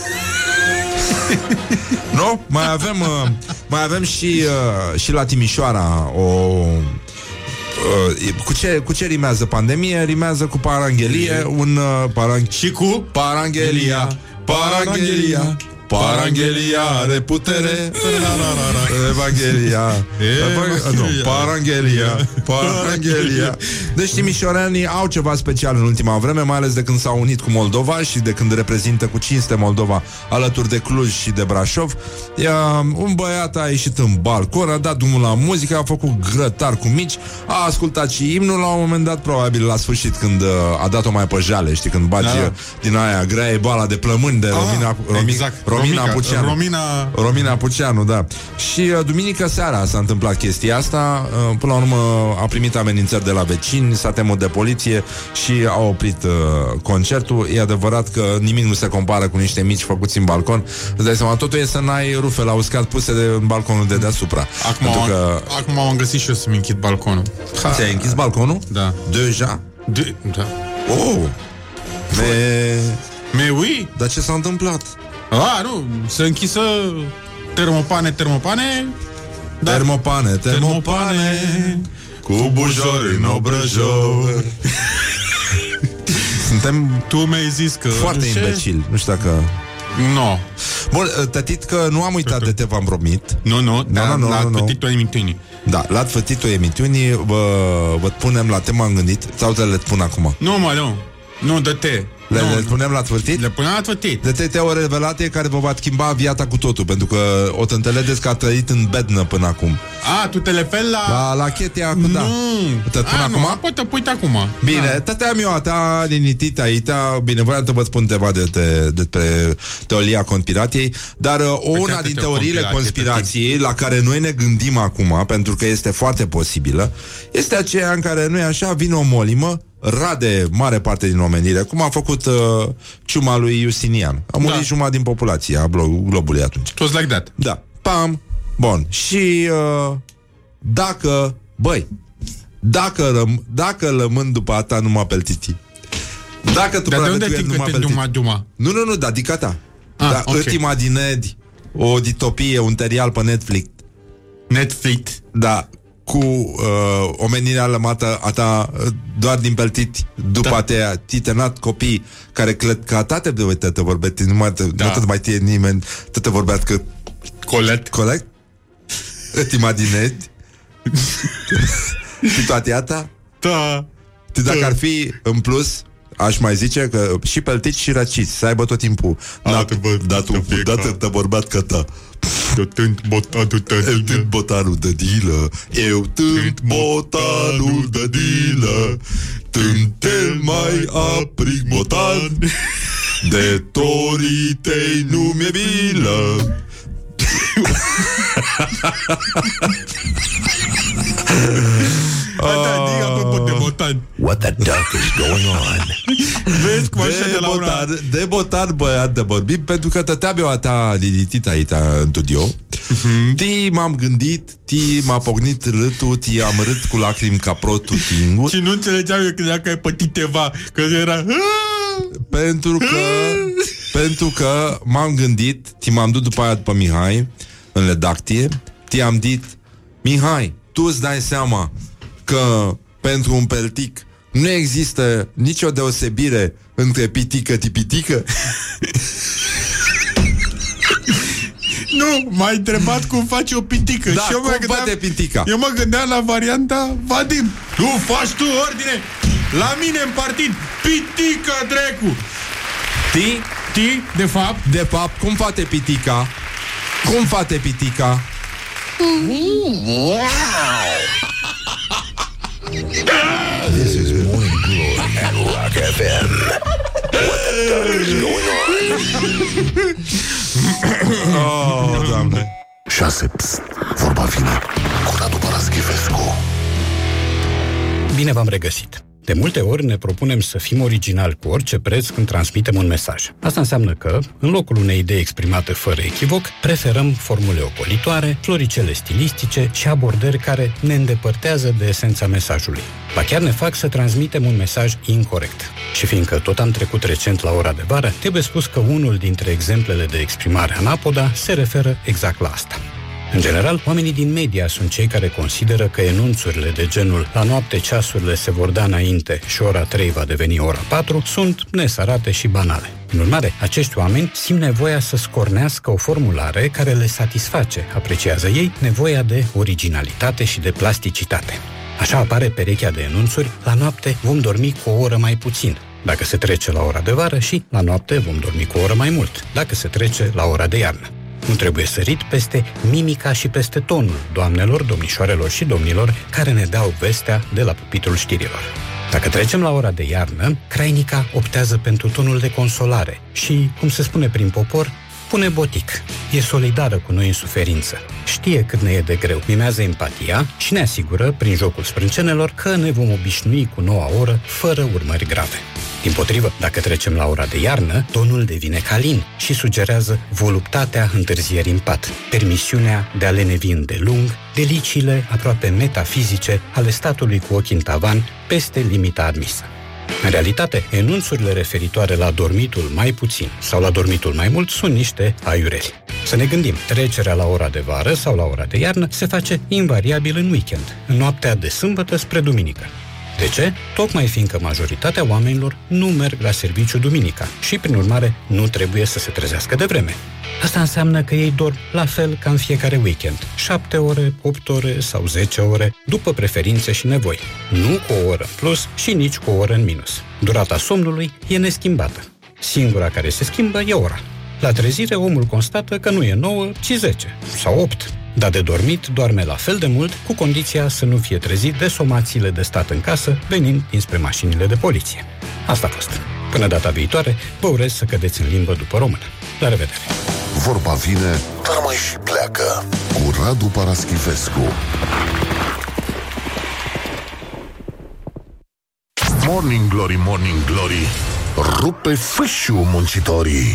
Nu? Mai avem, uh, mai avem și, uh, și la Timișoara o... Uh, cu, ce, cu ce rimează pandemie? Rimează cu paranghelie. Un uh, parang... Și cu? Paranghelia. Paranghelia. Paranghelia are putere. Evanghelia. Nu, Paranghelia. Paranghelia. Deci timișorenii au ceva special în ultima vreme, mai ales de când s-au unit cu Moldova și de când reprezintă cu cinste Moldova alături de Cluj și de Brașov. Ia, un băiat a ieșit în balcon, a dat drumul la muzică, a făcut grătar cu mici, a ascultat și imnul la un moment dat, probabil la sfârșit, când uh, a dat-o mai pe jale, știi, când bagi da. din aia grea e bala de plămâni de ah, Romina, Romi, exact. Romina Puceanu. Romina... Romina Puceanu, da. Și uh, duminică seara s-a întâmplat chestia asta. uh, Până la urmă a primit amenințări de la vecini, s-a temut de poliție și a oprit uh, concertul. E adevărat că nimic nu se compară cu niște mici făcuți în balcon. Îți dai seama, totul e să n-ai rufe la uscat puse de, în balconul de deasupra. Acum, am, că... acum am găsit și eu să-mi închid balconul. Ha. Ți-ai închis balconul? Da. Deja? De... Da. Oh! Me... Me oui? Dar ce s-a întâmplat? A, nu, să închisă termopane, termopane dar... Termopane, termopane cu bujori în obrăjor. Suntem... Tu mi-ai zis că... Foarte imbecili, nu știu dacă... Nu no. Bun, tătit că nu am uitat de te v-am promit. Nu, nu, da, la fătitul emisiunii. Da, la fătitul emisiunii vă, vă punem la tema am gândit. Sau te le pun acum? Nu, mă, nu, nu, dă-te. Le, le punem la tvârtit? Le punem la tvârtit. De te o revelate care vă va schimba viața cu totul, pentru că o să înțelegeți că a trăit în bednă până acum. A, tu te referi la... La, la chetia, nu. Da. Te pun acum? Nu, poate pui acum. Bine, da. Tăteam eu a ta, linitit aici. Bine, voiam să vă spun ceva de, de, despre teoria conspirației. Dar o, una din teoriile conspirației la care noi ne gândim acum, pentru că este foarte posibilă, este aceea în care, nu e așa, vine o molimă, rade mare parte din omenire, cum a făcut uh, ciuma lui Justinian. A murit da. jumătate din populația globului atunci. It was like that. Da. Pam. Bun. Și uh, dacă, băi, dacă, răm, dacă lămân după a ta numai peltiti. Dacă tu dar de unde numai duma, duma? Nu, nu, nu, da, dica ta. Ah, da, okay. Îți imaginezi o ditopie, un serial pe Netflix. Netflix? Da. Cu uh, omenirea lămată a ta uh, doar din peltiti, după da. te-a titenat copii care cred că a ta te uite, te vorbești, nu mai te, da. nu te mai tie nimeni, te te vorbească colect. Colect? Îți imaginezi? Situația ta? Da. Dacă da. ar fi în plus, aș mai zice că și peltici și răciți să aibă tot timpul. Dată te vorbeat că ta. Eu tânt botanul de dilă. Eu tânt botanul de dilă. Eu tânt botanul de dilă. Tânt cel mai aprig botan. De torii tăi nu mi-e milă. What the duck is going on? Vezi cum așa de, de la botan, una... De botan, băiat, de vorbim, pentru că tăteam eu a ta linitit aici în studio. Uh-huh. Ti m-am gândit, ti m-a pocnit râtul, ti am rât cu lacrimi ca protul tingur. Și nu înțelegeam eu că ai pătit ceva, că era... Pentru că pentru că m-am gândit, ti m-am dus după aia după Mihai în redacție, ti am dit, Mihai, tu îți dai seama că pentru un peltic nu există nicio deosebire între pitică-tipitică? Nu, m-ai întrebat cum face o pitică. Da, și eu cum mă face pitica? Eu mă gândeam la varianta Vadim. Nu faci tu ordine la mine în partid. Pitică, drecu. Ti? Ti, de fapt. De fapt, cum face pitica? Cum face pitica? Wow! This is Morning Glory at Rock F M. What the duck is going on? Oh, Doamne. șase. Pst, vorba vine cu Radu Paraschivescu. Bine v-am regăsit. De multe ori ne propunem să fim originali cu orice preț când transmitem un mesaj. Asta înseamnă că, în locul unei idei exprimate fără echivoc, preferăm formule ocolitoare, floricele stilistice și abordări care ne îndepărtează de esența mesajului. Ba chiar ne fac să transmitem un mesaj incorect. Și fiindcă tot am trecut recent la ora de vară, trebuie spus că unul dintre exemplele de exprimare anapoda se referă exact la asta. În general, oamenii din media sunt cei care consideră că enunțurile de genul la noapte ceasurile se vor da înainte și ora trei va deveni ora patru sunt nesărate și banale. În urmare, acești oameni simt nevoia să scornească o formulare care le satisface, apreciază ei, nevoia de originalitate și de plasticitate. Așa apare perechea de enunțuri, la noapte vom dormi cu o oră mai puțin, dacă se trece la ora de vară, și la noapte vom dormi cu o oră mai mult, dacă se trece la ora de iarnă. Nu trebuie sărit peste mimica și peste tonul doamnelor, domnișoarelor și domnilor care ne dau vestea de la pupitrul știrilor. Dacă trecem la ora de iarnă, crainica optează pentru tonul de consolare și, cum se spune prin popor, pune botic. E solidară cu noi în suferință. Știe cât ne e de greu, mimează empatia și ne asigură, prin jocul sprâncenelor, că ne vom obișnui cu noua oră fără urmări grave. Dimpotrivă, dacă trecem la ora de iarnă, tonul devine calin și sugerează voluptatea întârzierii în pat, permisiunea de a lenevi îndelung, deliciile aproape metafizice ale statului cu ochii în tavan peste limita admisă. În realitate, enunțurile referitoare la dormitul mai puțin sau la dormitul mai mult sunt niște aiureli. Să ne gândim, trecerea la ora de vară sau la ora de iarnă se face invariabil în weekend, în noaptea de sâmbătă spre duminică. De ce? Tocmai fiindcă majoritatea oamenilor nu merg la serviciu duminica și, prin urmare, nu trebuie să se trezească de vreme. Asta înseamnă că ei dorm la fel ca în fiecare weekend, șapte ore, opt ore sau zece ore, după preferințe și nevoi. Nu cu o oră în plus și nici cu o oră în minus. Durata somnului e neschimbată. Singura care se schimbă e ora. La trezire, omul constată că nu e nouă, ci zece sau opt. Dar de dormit doarme la fel de mult, cu condiția să nu fie trezit de somațiile de stat în casă, venind dinspre mașinile de poliție. Asta a fost. Până data viitoare, vă urez să cădeți în limbă după română. La revedere! Vorba vine, dar mai și pleacă. Cu Radu Paraschivescu. Morning Glory, Morning Glory, rupe fâșiu muncitorii.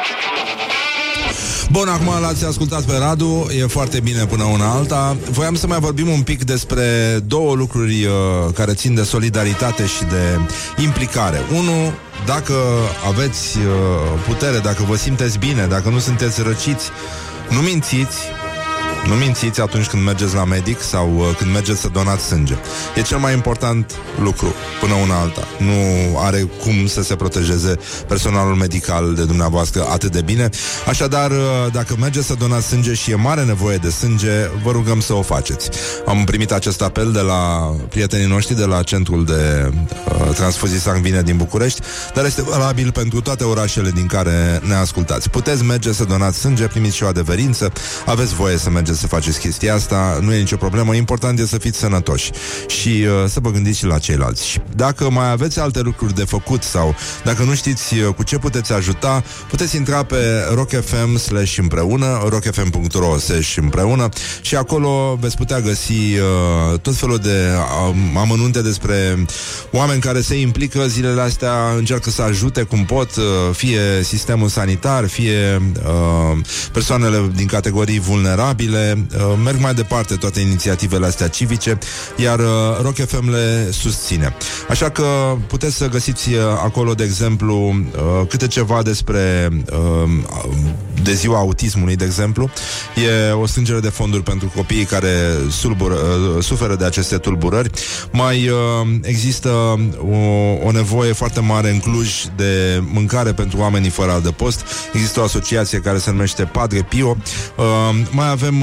Bun, acum l-ați ascultat pe Radu, e foarte bine până una alta. Voiam să mai vorbim un pic despre două lucruri uh, care țin de solidaritate și de implicare. Unu, dacă aveți uh, putere, dacă vă simteți bine, dacă nu sunteți răciți, nu mințiți. Nu mințiți atunci când mergeți la medic sau uh, când mergeți să donați sânge. E cel mai important lucru până una alta. Nu are cum să se protejeze personalul medical de dumneavoastră atât de bine. Așadar, uh, dacă mergeți să donați sânge și e mare nevoie de sânge, vă rugăm să o faceți. Am primit acest apel de la prietenii noștri de la Centrul de uh, Transfuzii Sanguine din București, dar este valabil pentru toate orașele din care ne ascultați. Puteți merge să donați sânge, primiți și o adeverință, aveți voie să mergeți să faceți chestia asta, nu e nicio problemă. Important e să fiți sănătoși și uh, să vă gândiți și la ceilalți. Și dacă mai aveți alte lucruri de făcut sau dacă nu știți uh, cu ce puteți ajuta, puteți intra pe rock f m slash împreună, rock f m punct r o slash împreună și acolo veți putea găsi uh, tot felul de uh, amănunte despre oameni care se implică zilele astea, încearcă să ajute cum pot, uh, fie sistemul sanitar, fie uh, persoanele din categorii vulnerabile. Merg mai departe toate inițiativele astea civice, iar Rock F M le susține. Așa că puteți să găsiți acolo, de exemplu, câte ceva despre de ziua autismului, de exemplu. E o strângere de fonduri pentru copiii care sulbură, suferă de aceste tulburări. Mai există o, o nevoie foarte mare în Cluj de mâncare pentru oamenii fără adăpost. Există o asociație care se numește Padre Pio. Mai avem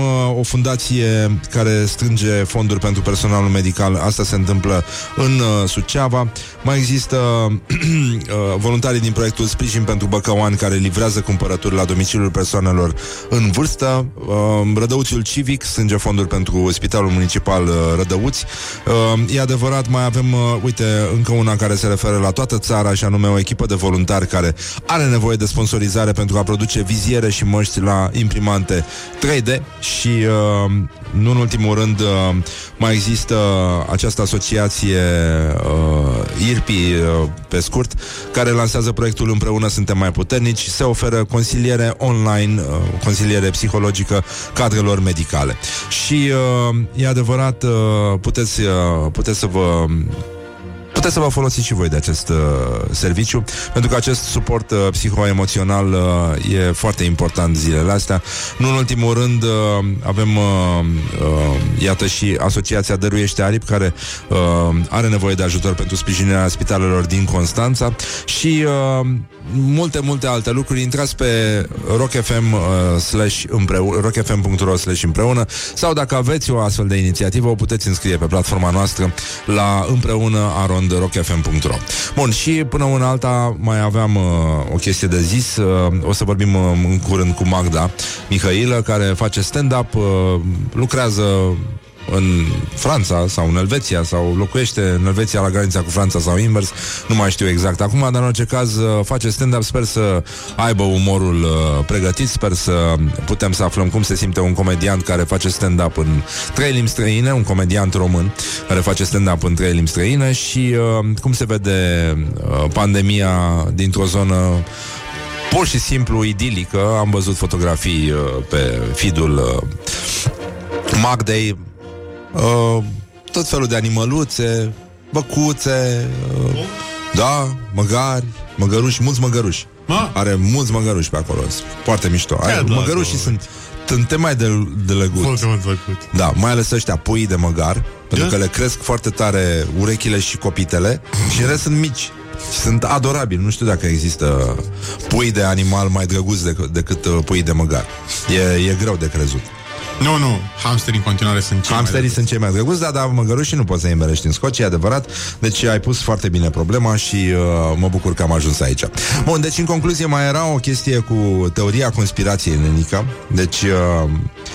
uh, o fundație care strânge fonduri pentru personalul medical. Asta se întâmplă în uh, Suceava. Mai există uh, voluntarii din proiectul Sprijin pentru Băcăoani, care livrează cumpărături la domiciliul persoanelor în vârstă. uh, Rădăuțiul Civic strânge fonduri pentru Spitalul Municipal uh, Rădăuți. uh, E adevărat, mai avem, uh, uite, încă una care se referă la toată țara, și anume o echipă de voluntari care are nevoie de sponsorizare pentru a produce viziere și măști la imprimante trei D. Și uh, nu în ultimul rând, uh, mai există această asociație uh, I R P I, uh, pe scurt, care lansează proiectul Împreună Suntem Mai Puternici. Se oferă consiliere online, uh, consiliere psihologică cadrelor medicale. Și uh, e adevărat, uh, puteți, uh, puteți să vă puteți să vă folosiți și voi de acest uh, serviciu, pentru că acest suport uh, psihoemoțional uh, e foarte important zilele astea. Nu în ultimul rând, uh, avem uh, uh, iată și Asociația Dăruiește Aripi, care uh, are nevoie de ajutor pentru sprijinirea spitalelor din Constanța și uh, multe, multe alte lucruri. Intrați pe rock f m uh, slash împreună, rock f m punct r o slash împreună, sau dacă aveți o astfel de inițiativă, o puteți înscrie pe platforma noastră la împreună arond rock f m punct r o. Bun, și până una alta mai aveam uh, o chestie de zis. uh, O să vorbim uh, în curând cu Magda Mihailă, care face stand-up, uh, lucrează în Franța sau în Elveția, sau locuiește în Elveția la granița cu Franța sau invers, nu mai știu exact acum, dar în orice caz face stand-up. Sper să aibă umorul uh, pregătit, sper să putem să aflăm cum se simte un comediant care face stand-up în trei limbi străine, un comediant român care face stand-up în trei limbi străine și uh, cum se vede uh, pandemia dintr-o zonă pur și simplu idilică. Am văzut fotografii uh, pe feed-ul uh, Magdei, Uh, tot felul de animăluțe, băcuțe, uh, da, măgari, măgăruși, mulți măgăruși. Ma? Are mulți măgăruși pe acolo, foarte mișto. Are, măgărușii sunt tânte mai de, de lăgut. Da, mai ales ăștia pui de măgar, pentru că le cresc foarte tare urechile și copitele și în rest sunt mici. Sunt adorabili. Nu știu dacă există pui de animal mai drăguți decât, decât pui de măgar. E, e greu de crezut. Nu, nu, hamsterii în continuare sunt cei Hamsterii mai sunt cei mai drăguți, da, dar măgărușii nu poți să-i îmbelești în Scocia, e adevărat. Deci ai pus foarte bine problema și uh, mă bucur că am ajuns aici. Bun, deci în concluzie mai era o chestie cu teoria conspirației, Nenica. Deci uh,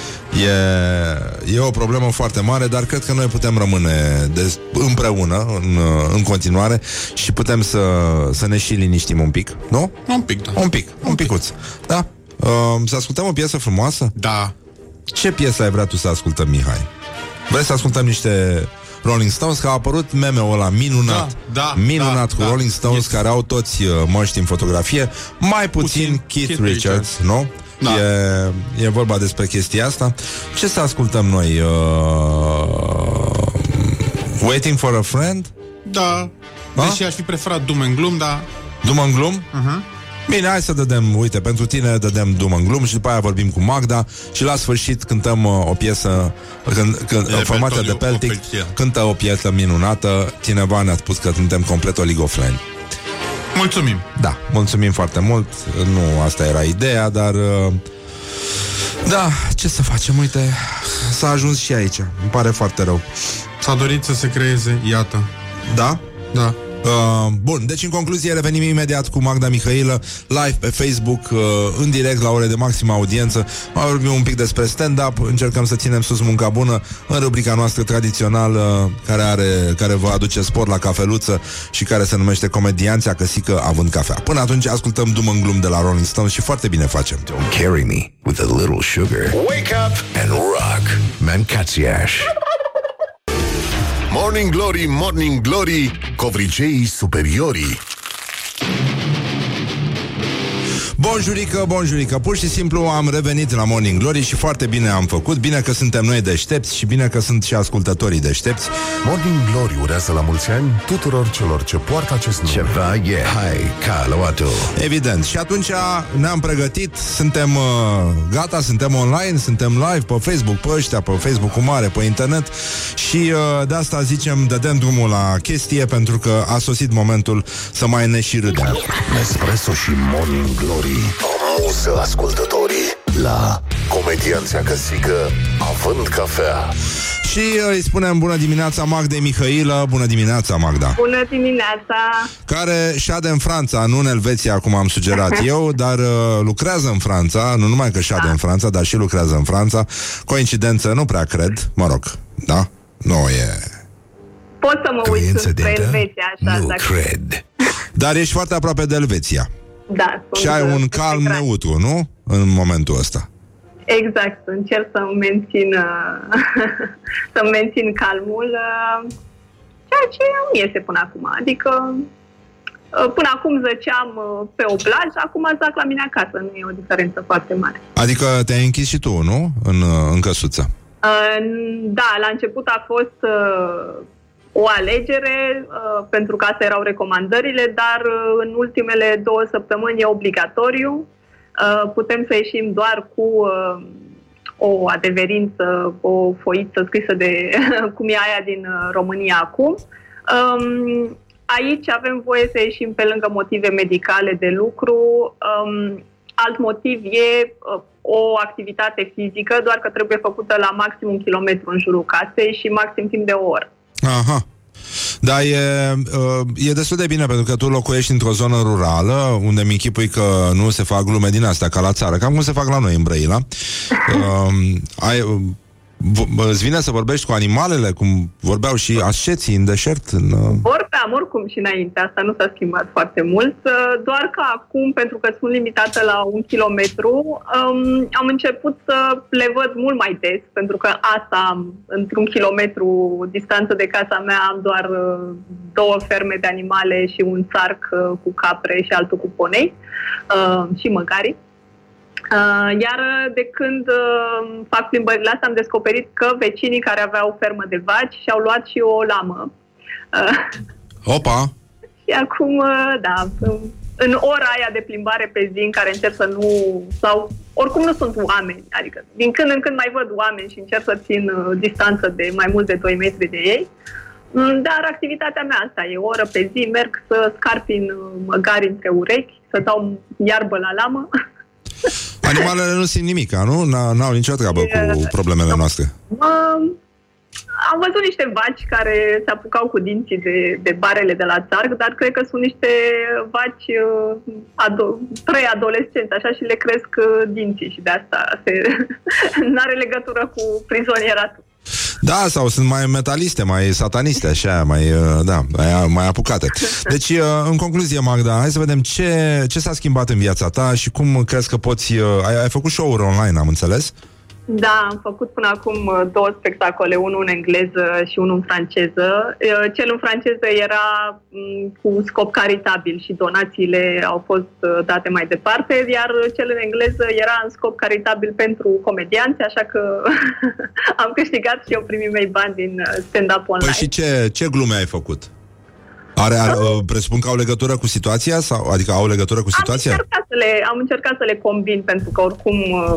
e, e o problemă foarte mare, dar cred că noi putem rămâne de, împreună în, în continuare și putem să, să ne și liniștim un pic, nu? Un pic, da. Un pic, un, un picuț, da? Uh, să ascultăm o piesă frumoasă? Da. Ce piesă ai vrea tu să ascultăm, Mihai? Vrei să ascultăm niște Rolling Stones? Că a apărut meme-ul ăla minunat, da, da, minunat da, cu da, Rolling Stones, yes, care au toți uh, măști în fotografie, mai puțin, puțin Keith, Keith Richards, Richards, nu? Da. E, e vorba despre chestia asta. Ce să ascultăm noi? Uh, Waiting for a Friend? Da. Ha? Deși aș fi preferat Doom and Gloom, dar... Doom and Gloom? Uh-huh. Bine, hai să dădem, uite, pentru tine dădem Doom and Gloom și după aia vorbim cu Magda și la sfârșit cântăm uh, o piesă, când, când, de formația de Peltic cântă o piesă minunată. Cineva ne-a spus că suntem complet oligofreni. Mulțumim. Da, mulțumim foarte mult. Nu asta era ideea, dar uh, da, ce să facem, uite, s-a ajuns și aici. Îmi pare foarte rău. S-a dorit să se creeze, iată. Da? Da. Uh, bun, deci în concluzie revenim imediat cu Magda Mihailă live pe Facebook, uh, în direct la ore de maximă audiență. Mai vorbim un pic despre stand-up, încercăm să ținem sus munca bună în rubrica noastră tradițională care, are, care vă aduce sport la cafeluță și care se numește Comedianța Căsică având cafea. Până atunci ascultăm Doom and Gloom de la Rolling Stones și foarte bine facem. Don't carry me with a little sugar. Wake up and rock. Mancațiaș. Morning Glory, Morning Glory, covriceii superiorii. Bonjurică, bonjurică. Pur și simplu am revenit la Morning Glory și foarte bine am făcut. Bine că suntem noi deștepți și bine că sunt și ascultătorii deștepți. Morning Glory urează la mulți ani tuturor celor ce poartă acest nume. Ceva e hai, Caluatu. Evident. Și atunci ne-am pregătit, suntem uh, gata, suntem online, suntem live pe Facebook, pe ăștia, pe Facebook-ul mare, pe internet. Și uh, de asta zicem, dădem drumul la chestie, pentru că a sosit momentul să mai ne și râdem. Nespresso și Morning Glory, o muză ascultătorii la comedianța căsică având cafea. Și îi spunem bună dimineața Magdei Mihailă. Bună dimineața, Magda. Bună dimineața. Care șade în Franța, nu în Elveția, cum am sugerat eu, dar uh, lucrează în Franța. Nu numai că șade da. în Franța, dar și lucrează în Franța. Coincidență, nu prea cred. Mă rog, da? Nu e... Pot să mă uit spre Elveția, așa. Nu dacă... cred. Dar ești foarte aproape de Elveția. Da. Și ai un calm neutru, nu? În momentul ăsta. Exact, încerc să mențin să mențin calmul, ceea ce nu iese până acum. Adică până acum zăceam pe o plajă, acum zac la mine acasă, nu e o diferență foarte mare. Adică te-ai închis și tu, nu? În, în căsuță. Da, la început a fost o alegere, pentru că astea erau recomandările, dar în ultimele două săptămâni e obligatoriu. Putem să ieșim doar cu uh, o adeverință, o foiță scrisă de cum e aia din România acum. Um, aici avem voie să ieșim pe lângă motive medicale de lucru. Um, alt motiv e uh, o activitate fizică, doar că trebuie făcută la maxim un kilometru în jurul casei și maxim timp de o oră. Aha. Da, e, e destul de bine pentru că tu locuiești într-o zonă rurală unde mi închipui că nu se fac glume din astea ca la țară, cam cum se fac la noi în Brăila. uh, ai, îți vine să vorbești cu animalele cum vorbeau și asceții în deșert? În... Vorbeam oricum și înainte, asta nu s-a schimbat foarte mult, doar că acum, pentru că sunt limitată la un kilometru, um, am început să le văd mult mai des, pentru că asta am, într-un kilometru distanță de casa mea, am doar uh, două ferme de animale și un țarc uh, cu capre și altul cu ponei uh, și măgari. Uh, iar de când uh, fac plimbările astea am descoperit că vecinii care aveau fermă de vaci și-au luat și o lamă. Uh, Opa! Și acum, uh, da, în ora aia de plimbare pe zi în care încerc să nu... sau oricum nu sunt oameni, adică din când în când mai văd oameni și încerc să țin uh, distanță de mai mult de doi metri de ei. Dar activitatea mea asta e o oră pe zi, merg să scarpin măgari între urechi, să dau iarbă la lamă. Animalele nu simt nimic, nu? N-au nicio treabă cu problemele noastre. Um, am văzut niște vaci care se apucau cu dinții de, de barele de la țarc, dar cred că sunt niște vaci uh, ado- preadolescenți, așa, și le cresc uh, dinții și de asta se n-are legătură cu prizonieratul. Da, sau sunt mai metaliste, mai sataniste, așa, mai, da, mai, mai apucate. Deci, în concluzie, Magda, hai să vedem ce, ce s-a schimbat în viața ta și cum crezi că poți... Ai, ai făcut show-uri online, am înțeles? Da, am făcut până acum două spectacole, unul în engleză și unul în franceză. Cel în franceză era cu scop caritabil și donațiile au fost date mai departe, iar cel în engleză era în scop caritabil pentru comedianți, așa că am câștigat și eu primii mei bani din stand-up online. Păi și ce, ce glume ai făcut? Are, are, presupun că au legătură cu situația? Sau, adică au legătură cu situația? Am încercat să le, am încercat să le combin, pentru că oricum...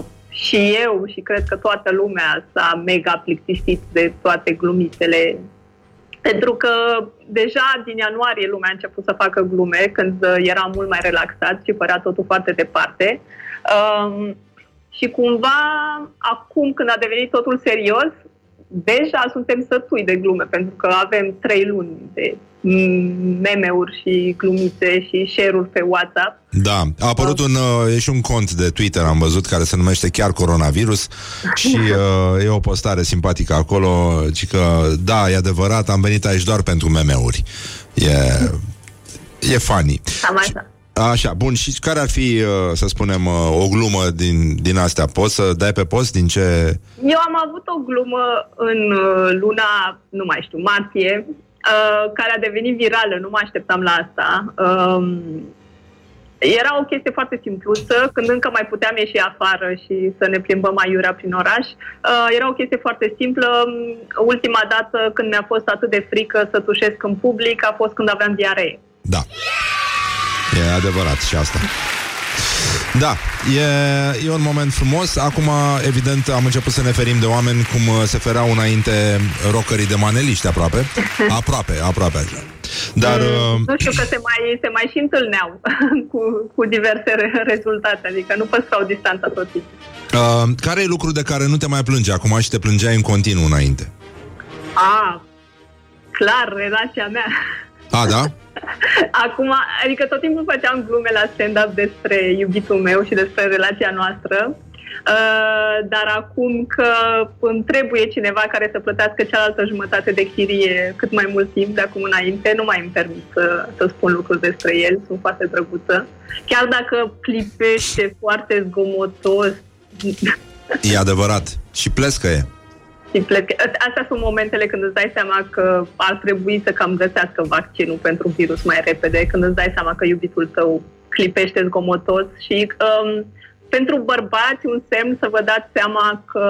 și eu și cred că toată lumea s-a mega plictisit de toate glumițele, pentru că deja din ianuarie lumea a început să facă glume, când era mult mai relaxat și părea totul foarte departe. Um, și cumva, acum când a devenit totul serios, deja suntem sătui de glume, pentru că avem trei luni de meme-uri și glumițe și share-uri pe WhatsApp. Da, a apărut un, e și un cont de Twitter, am văzut, care se numește chiar Coronavirus și uh, e o postare simpatică acolo, ci că, da, e adevărat, am venit aici doar pentru meme-uri. E, e funny. Am așa. Așa, bun, și care ar fi, să spunem, o glumă din, din astea? Poți să dai pe post din ce... Eu am avut o glumă în luna, nu mai știu, martie, care a devenit virală, nu mă așteptam la asta. Era o chestie foarte simpluță, când încă mai puteam ieși afară și să ne plimbăm aiurea prin oraș. Era o chestie foarte simplă. Ultima dată când mi-a fost atât de frică să tușesc în public a fost când aveam diaree. Da. E adevărat și asta. Da, e, e un moment frumos. Acum, evident, am început să ne ferim de oameni cum se fereau înainte rockerii de maneliști, aproape. Aproape, aproape așa. Dar... Mm, nu știu, că se mai, se mai și întâlneau cu, cu diverse rezultate, adică nu păstrau distanța tot timpul. Uh, care e lucru de care nu te mai plânge acum și te plângeai în continuu înainte? A, clar, relația mea. A, da? Acum, adică tot timpul făceam glume la stand-up despre iubitul meu și despre relația noastră. Uh, dar acum că îmi trebuie cineva care să plătească cealaltă jumătate de chirie cât mai mult timp de acum înainte, nu mai îmi permit să, să spun lucruri despre el, sunt foarte drăguță. Chiar dacă clipește foarte zgomotos. E adevărat. Și plescă e. Și plec. Astea sunt momentele când îți dai seama că ar trebui să cam găsească vaccinul pentru virus mai repede, când îți dai seama că iubitul tău clipește zgomotos și... Um, pentru bărbați, un semn să vă dați seama că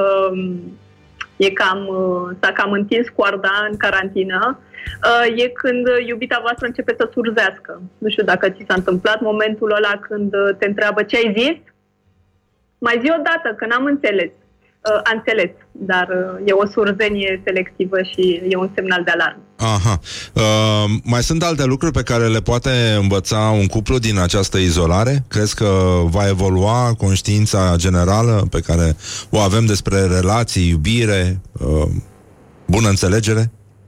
e cam, s-a cam întins coarda în carantină, e când iubita voastră începe să surzească. Nu știu dacă ți s-a întâmplat momentul ăla când te întreabă ce ai zis? Mai zi o dată, că n-am înțeles. A înțeles, dar e o surzenie selectivă și e un semnal de alarmă. Aha. Uh, mai sunt alte lucruri pe care le poate învăța un cuplu din această izolare? Crezi că va evolua conștiința generală pe care o avem despre relații, iubire, uh, bună înțelegere?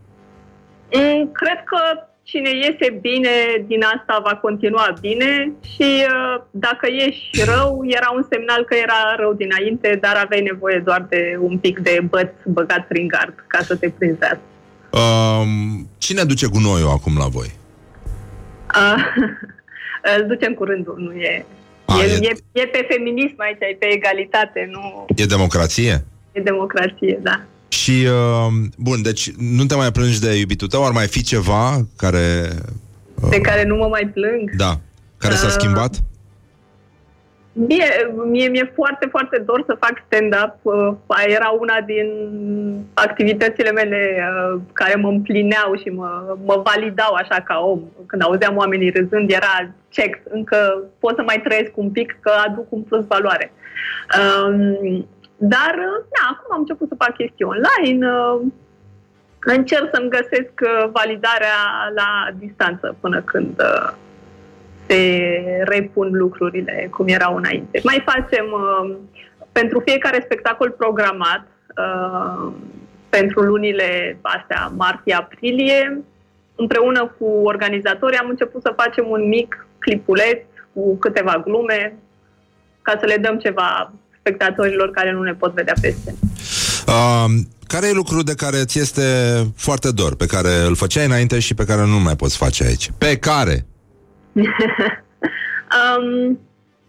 Mm, cred că cine iese bine din asta va continua bine și uh, dacă ieși rău, era un semnal că era rău dinainte, dar aveai nevoie doar de un pic de băț băgat prin gard ca să te prinzi. Uh, cine duce gunoiul acum la voi? Uh, îl ducem cu rândul, nu e... A, e, e... E, e pe feminism aici, e pe egalitate, nu... E democrație? E democrație, da. Și, uh, bun, deci nu te mai plângi de iubitul tău? Ar mai fi ceva care... Uh, de care nu mă mai plâng? Da. Care s-a uh, schimbat? Mie, mie mi-e foarte, foarte dor să fac stand-up. Uh, era una din activitățile mele uh, care mă împlineau și mă, mă validau așa ca om. Când auzeam oamenii râzând, era check. Încă pot să mai trăiesc un pic, că aduc un plus valoare. Uh, Dar, da, acum am început să fac chestii online, încerc să-mi găsesc validarea la distanță până când se repun lucrurile cum erau înainte. Mai facem pentru fiecare spectacol programat, pentru lunile astea, martie-aprilie, împreună cu organizatorii am început să facem un mic clipuleț cu câteva glume ca să le dăm ceva spectatorilor care nu ne pot vedea pe scenă. Uh, care e lucrul de care ți este foarte dor, pe care îl făceai înainte și pe care nu mai poți face aici? Pe care? um,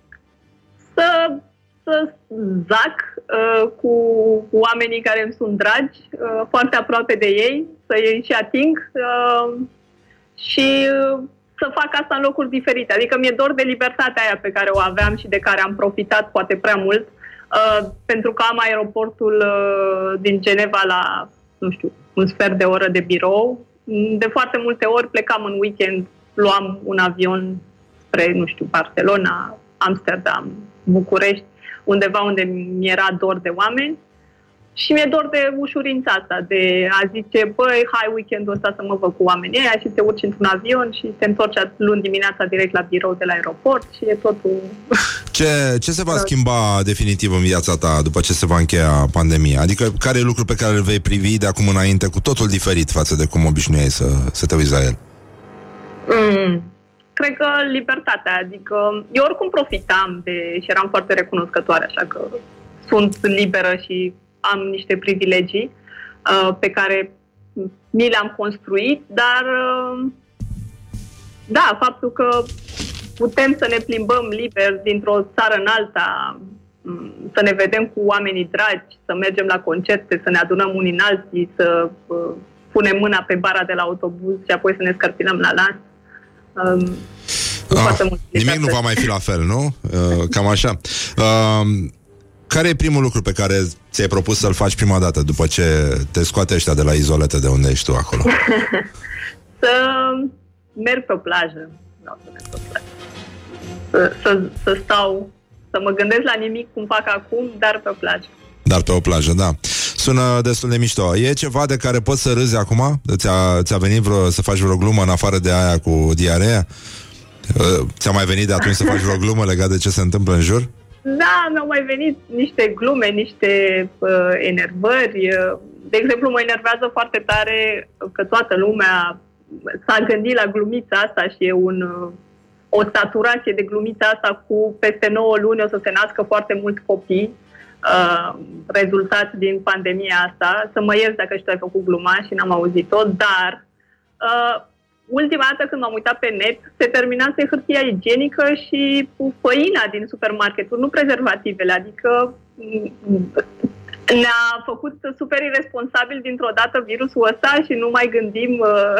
să, să zac uh, cu oamenii care îmi sunt dragi, uh, foarte aproape de ei, să îi și ating uh, și uh, să fac asta în locuri diferite. Adică mi-e dor de libertatea aia pe care o aveam și de care am profitat poate prea mult. Uh, pentru că am aeroportul uh, din Geneva la, nu știu, un sfert de oră de birou. De foarte multe ori plecam în weekend, luam un avion spre, nu știu, Barcelona, Amsterdam, București, undeva unde mi-era dor de oameni. Și mi-e dor de ușurința asta, de a zice, băi, hai weekendul ăsta să mă văd cu oamenii ăia și te urci într-un avion și te întorci luni dimineața direct la birou de la aeroport și e totul... Ce, ce se va schimba definitiv în viața ta după ce se va încheia pandemia? Adică care e lucrul pe care îl vei privi de acum înainte cu totul diferit față de cum obișnuiai să, să te uiți la el? Mm, cred că libertatea, adică eu oricum profitam de, și eram foarte recunoscătoare, așa că sunt liberă și am niște privilegii uh, pe care mi le-am construit, dar uh, da, faptul că putem să ne plimbăm liber dintr-o țară în alta, să ne vedem cu oamenii dragi, să mergem la concerte, să ne adunăm unii în alții, să uh, punem mâna pe bara de la autobuz și apoi să ne scărpinăm la las. Uh, ah, nimic nu va mai fi la fel, nu? Uh, cam așa. Uh, Care e primul lucru pe care ți-ai propus să-l faci prima dată după ce te scoate ăștia de la izolete de unde ești tu acolo? Să merg pe o plajă. Vreau să merg pe o plajă. Să, să, să stau, să mă gândesc la nimic cum fac acum, dar pe o plajă. Dar pe o plajă, da. Sună destul de mișto. E ceva de care poți să râzi acum? Ți-a, ți-a venit vreo, să faci vreo glumă în afară de aia cu diarea? Ți-a mai venit de atunci să faci vreo glumă legat de ce se întâmplă în jur? Da, mi-au mai venit niște glume, niște uh, enervări. De exemplu, mă enervează foarte tare că toată lumea s-a gândit la glumița asta și e un, uh, o saturație de glumița asta cu peste nouă luni o să se nască foarte mulți copii uh, rezultat din pandemia asta. Să mă ierți dacă și tu ai făcut gluma și n-am auzit-o, dar uh, ultima dată când m-am uitat pe net, se terminase hârtia igienică și făina din supermarketuri, nu prezervativele, adică ne-a făcut super irresponsabil dintr-o dată virusul ăsta și nu mai gândim... Uh...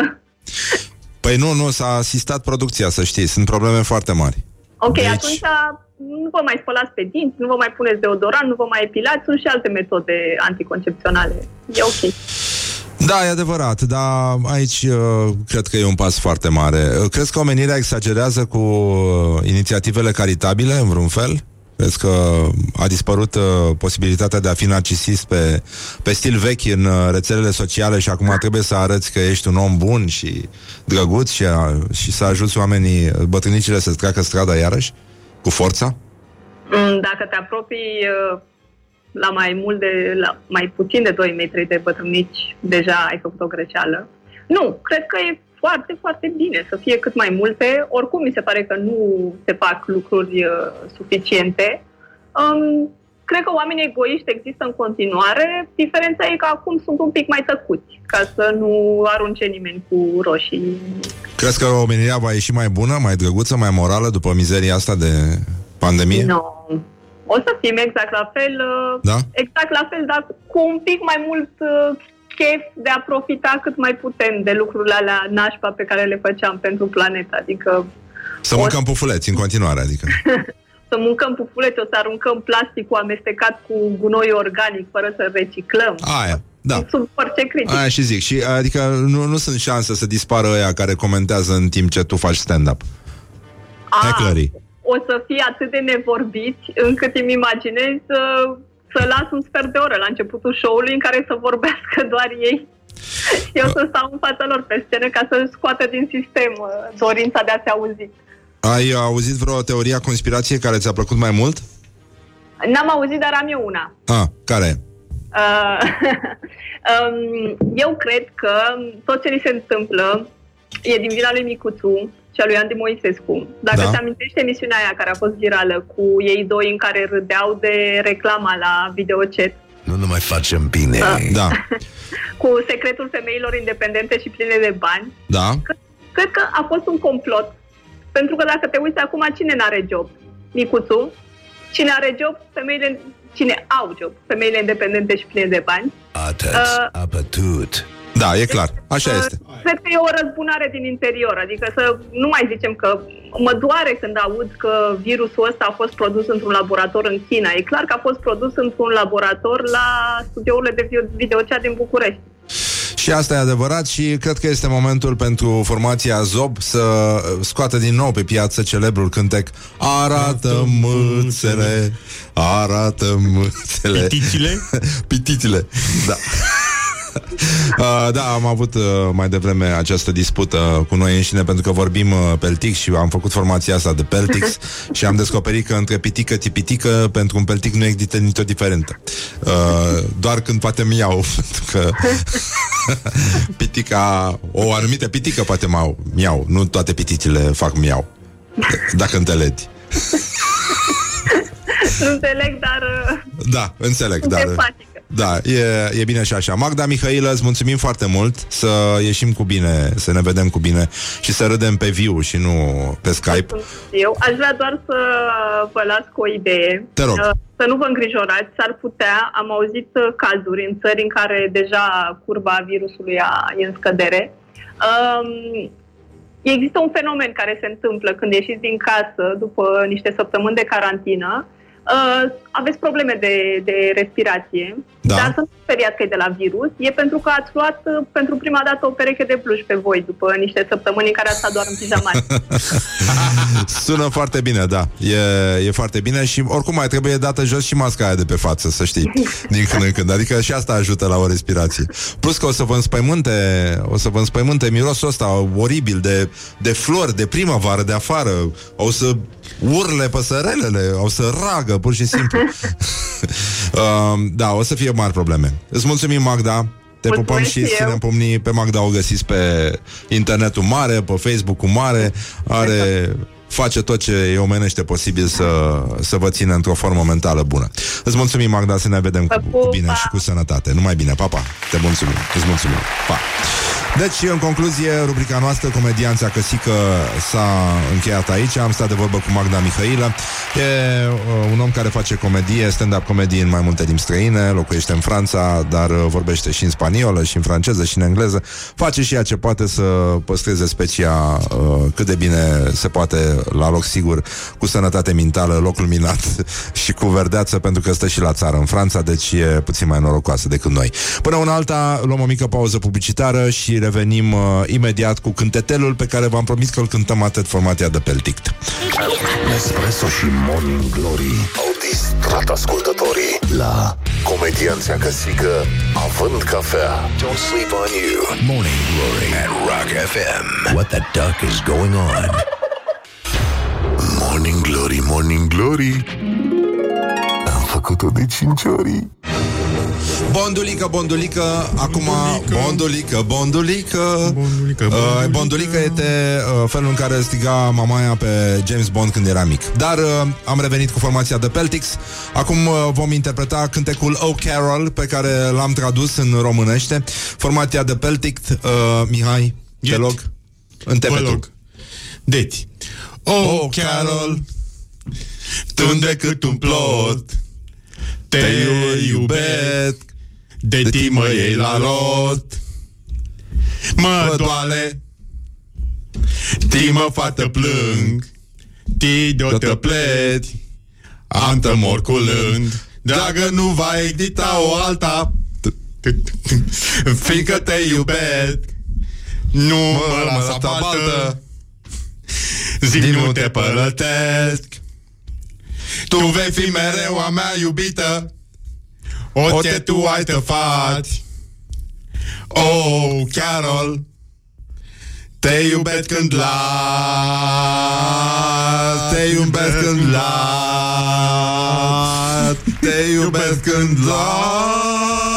Păi nu, nu, s-a asistat producția, să știi, sunt probleme foarte mari. Ok, deci... atunci nu vă mai spălați pe dinți, nu vă mai puneți deodorant, nu vă mai epilați, sunt și alte metode anticoncepționale. E ok. Da, e adevărat, dar aici uh, cred că e un pas foarte mare. Crezi că omenirea exagerează cu uh, inițiativele caritabile, în vreun fel? Crezi că a dispărut uh, posibilitatea de a fi narcisist pe, pe stil vechi în uh, rețelele sociale și acum trebuie să arăți că ești un om bun și drăguț și, a, și să ajuți oamenii, bătrânicile, să-ți treacă strada iarăși, cu forța? Dacă te apropii... Uh... la mai mult de, la mai puțin de doi metri de bătrânici, deja ai făcut o greșeală. Nu, cred că e foarte, foarte bine să fie cât mai multe. Oricum mi se pare că nu se fac lucruri uh, suficiente. Um, cred că oamenii egoiști există în continuare. Diferența e că acum sunt un pic mai tăcuți, ca să nu arunce nimeni cu roșii. Crezi că omenirea va ieși mai bună, mai drăguță, mai morală după mizeria asta de pandemie? Nu. No. O să fim exact la fel, da? exact la fel, dar cu un pic mai mult uh, chef de a profita cât mai putem de lucrurile alea nașpa pe care le făceam pentru planetă, adică... Să mâncăm o... pufuleți în continuare, adică... Să mâncăm pufuleți, o să aruncăm plasticul amestecat cu gunoi organic fără să reciclăm. Aia, da. Sub orice critică. Aia și zic, și adică nu, nu sunt șanse să dispară ăia care comentează în timp ce tu faci stand-up. Hecklerii. O să fie atât de nevorbiți încât îmi imaginez să, să las un sfert de oră la începutul show-ului în care să vorbească doar ei. Eu să stau în fața lor pe scenă ca să scoată din sistem dorința de a se auzi. Ai auzit vreo teorie a conspirației care ți-a plăcut mai mult? N-am auzit, dar am eu una. Ah, care? Uh, um, eu cred că tot ce ni se întâmplă e din vina lui Micuțu și a lui Andy Moisescu. Dacă da. Te amintești emisiunea aia care a fost virală cu ei doi în care râdeau de reclama la Videochat. Nu ne mai facem bine. Da. da. Cu secretul femeilor independente și pline de bani. Da. Cred, cred că a fost un complot. Pentru că dacă te uiți acum, cine n-are job? Micuțu. Cine are job? Femeile... Cine au job? Femeile independente și pline de bani. Atât, uh, apătut. Da, e clar. Așa este. Cred că e o răzbunare din interior. Adică să nu mai zicem că mă doare când aud că virusul ăsta a fost produs într-un laborator în China. E clar că a fost produs într-un laborator la studiourile de Videochat din București. Și asta e adevărat și cred că este momentul pentru formația Zob să scoată din nou pe piață celebrul cântec Arată mâțele, arată mâțele. Piticile? Piticile, da. Uh, da, am avut uh, mai devreme această dispută cu noi înșine pentru că vorbim uh, Peltix și am făcut formația asta de Peltix și am descoperit că între pitică tipitică pentru un Peltic nu există nicio diferență. Uh, doar când poate miau, pentru că pitica, o anumită pitică poate miau, miau, nu toate piticile fac miau. Dacă înțelegi. Nu înțeleg, dar... Da, înțeleg, dar... Empatică. Da, e, e bine și așa. Magda Mihailă, îți mulțumim foarte mult. Să ieșim cu bine, să ne vedem cu bine și să râdem pe viu și nu pe Skype. Eu aș vrea doar să vă las cu o idee. Te rog. Să nu vă îngrijorați, s-ar putea, am auzit cazuri în țări în care deja curba virusului e în scădere. Um, există un fenomen care se întâmplă când ieșiți din casă după niște săptămâni de carantină. Uh, aveți probleme de, de respirație, da. Dar să nu speriați că e de la virus, e pentru că ați luat uh, pentru prima dată o pereche de bluși pe voi după niște săptămâni în care ați stat doar în pijamani. Sună foarte bine, da, e, e foarte bine și oricum mai trebuie dată jos și masca aia de pe față, să știi, din când în când, adică și asta ajută la o respirație. Plus că o să vă înspăimânte, o să vă înspăimânte mirosul ăsta oribil de, de flori, de primăvară, de afară, o să urle păsărelele, au să ragă, pur și simplu. uh, Da, o să fie mari probleme. Îți mulțumim, Magda. Te Mulțumesc pupăm și ținem pumnii. Pe Magda o găsiți pe internetul mare, pe Facebook-ul mare. Are... face tot ce e omenește posibil să, să vă țină într-o formă mentală bună. Îți mulțumim, Magda, să ne vedem cu, cu bine și cu sănătate. Numai bine, pa, pa. Te mulțumim, îți mulțumim, pa. Deci, în concluzie, rubrica noastră, Comedianța Căsică, s-a încheiat aici. Am stat de vorbă cu Magda Mihailă. E uh, un om care face comedie, stand-up comedie în mai multe limbi străine, locuiește în Franța, dar uh, vorbește și în spaniolă, și în franceză, și în engleză. Face și ea ce poate să păstreze specia uh, cât de bine se poate, la loc sigur, cu sănătate mentală, locul minat și cu verdeață, pentru că stă și la țară în Franța, deci e puțin mai norocoasă decât noi. Până una alta, luăm o mică pauză publicitară și revenim uh, imediat cu cântetelul pe care v-am promis că îl cântăm atât formația de Peltict. Nespresso și Morning Glory au distrat ascultătorii la Comedianța Căsică având cafea. Don't sleep on you. Morning Glory at Rock F M. What the duck is going on? Morning Glory, Morning Glory, am făcut-o de cinci ori. Bondulică, bondulică, acum bondulică, bondulică Bondulică, uh, bondulică este uh, felul în care striga mamaia pe James Bond când era mic. Dar uh, am revenit cu formația de Peltics. Acum uh, vom interpreta cântecul Oh Carol, pe care l-am tradus în românește. Formația de Peltic, uh, Mihai, te log, întepe. Deci Oh, Carol, tu decât un plot, te iubesc, de ti mă iei la rost. Mă doale, ti mă fată plâng, ti de-o te pleci, am te mor cu lând. Dragă, nu va exista o alta, fiindcă te iubesc, nu mă lasa baltă. Zic, nu te părătesc, tu vei fi mereu a mea iubită, orice tu ai te faci. Oh, Carol, te iubesc când las, te iubesc când las, te iubesc când las.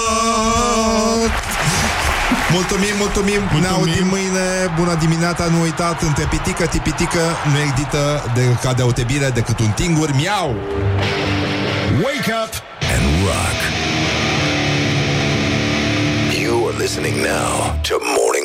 Mulțumim, mulțumim, mulțumim. Ne auzim mâine. Bună dimineața, nu uitați, între pitică, tipitică nu există de, ca deosebire decât un tingur miau. Wake up and rock. You are listening now to Morning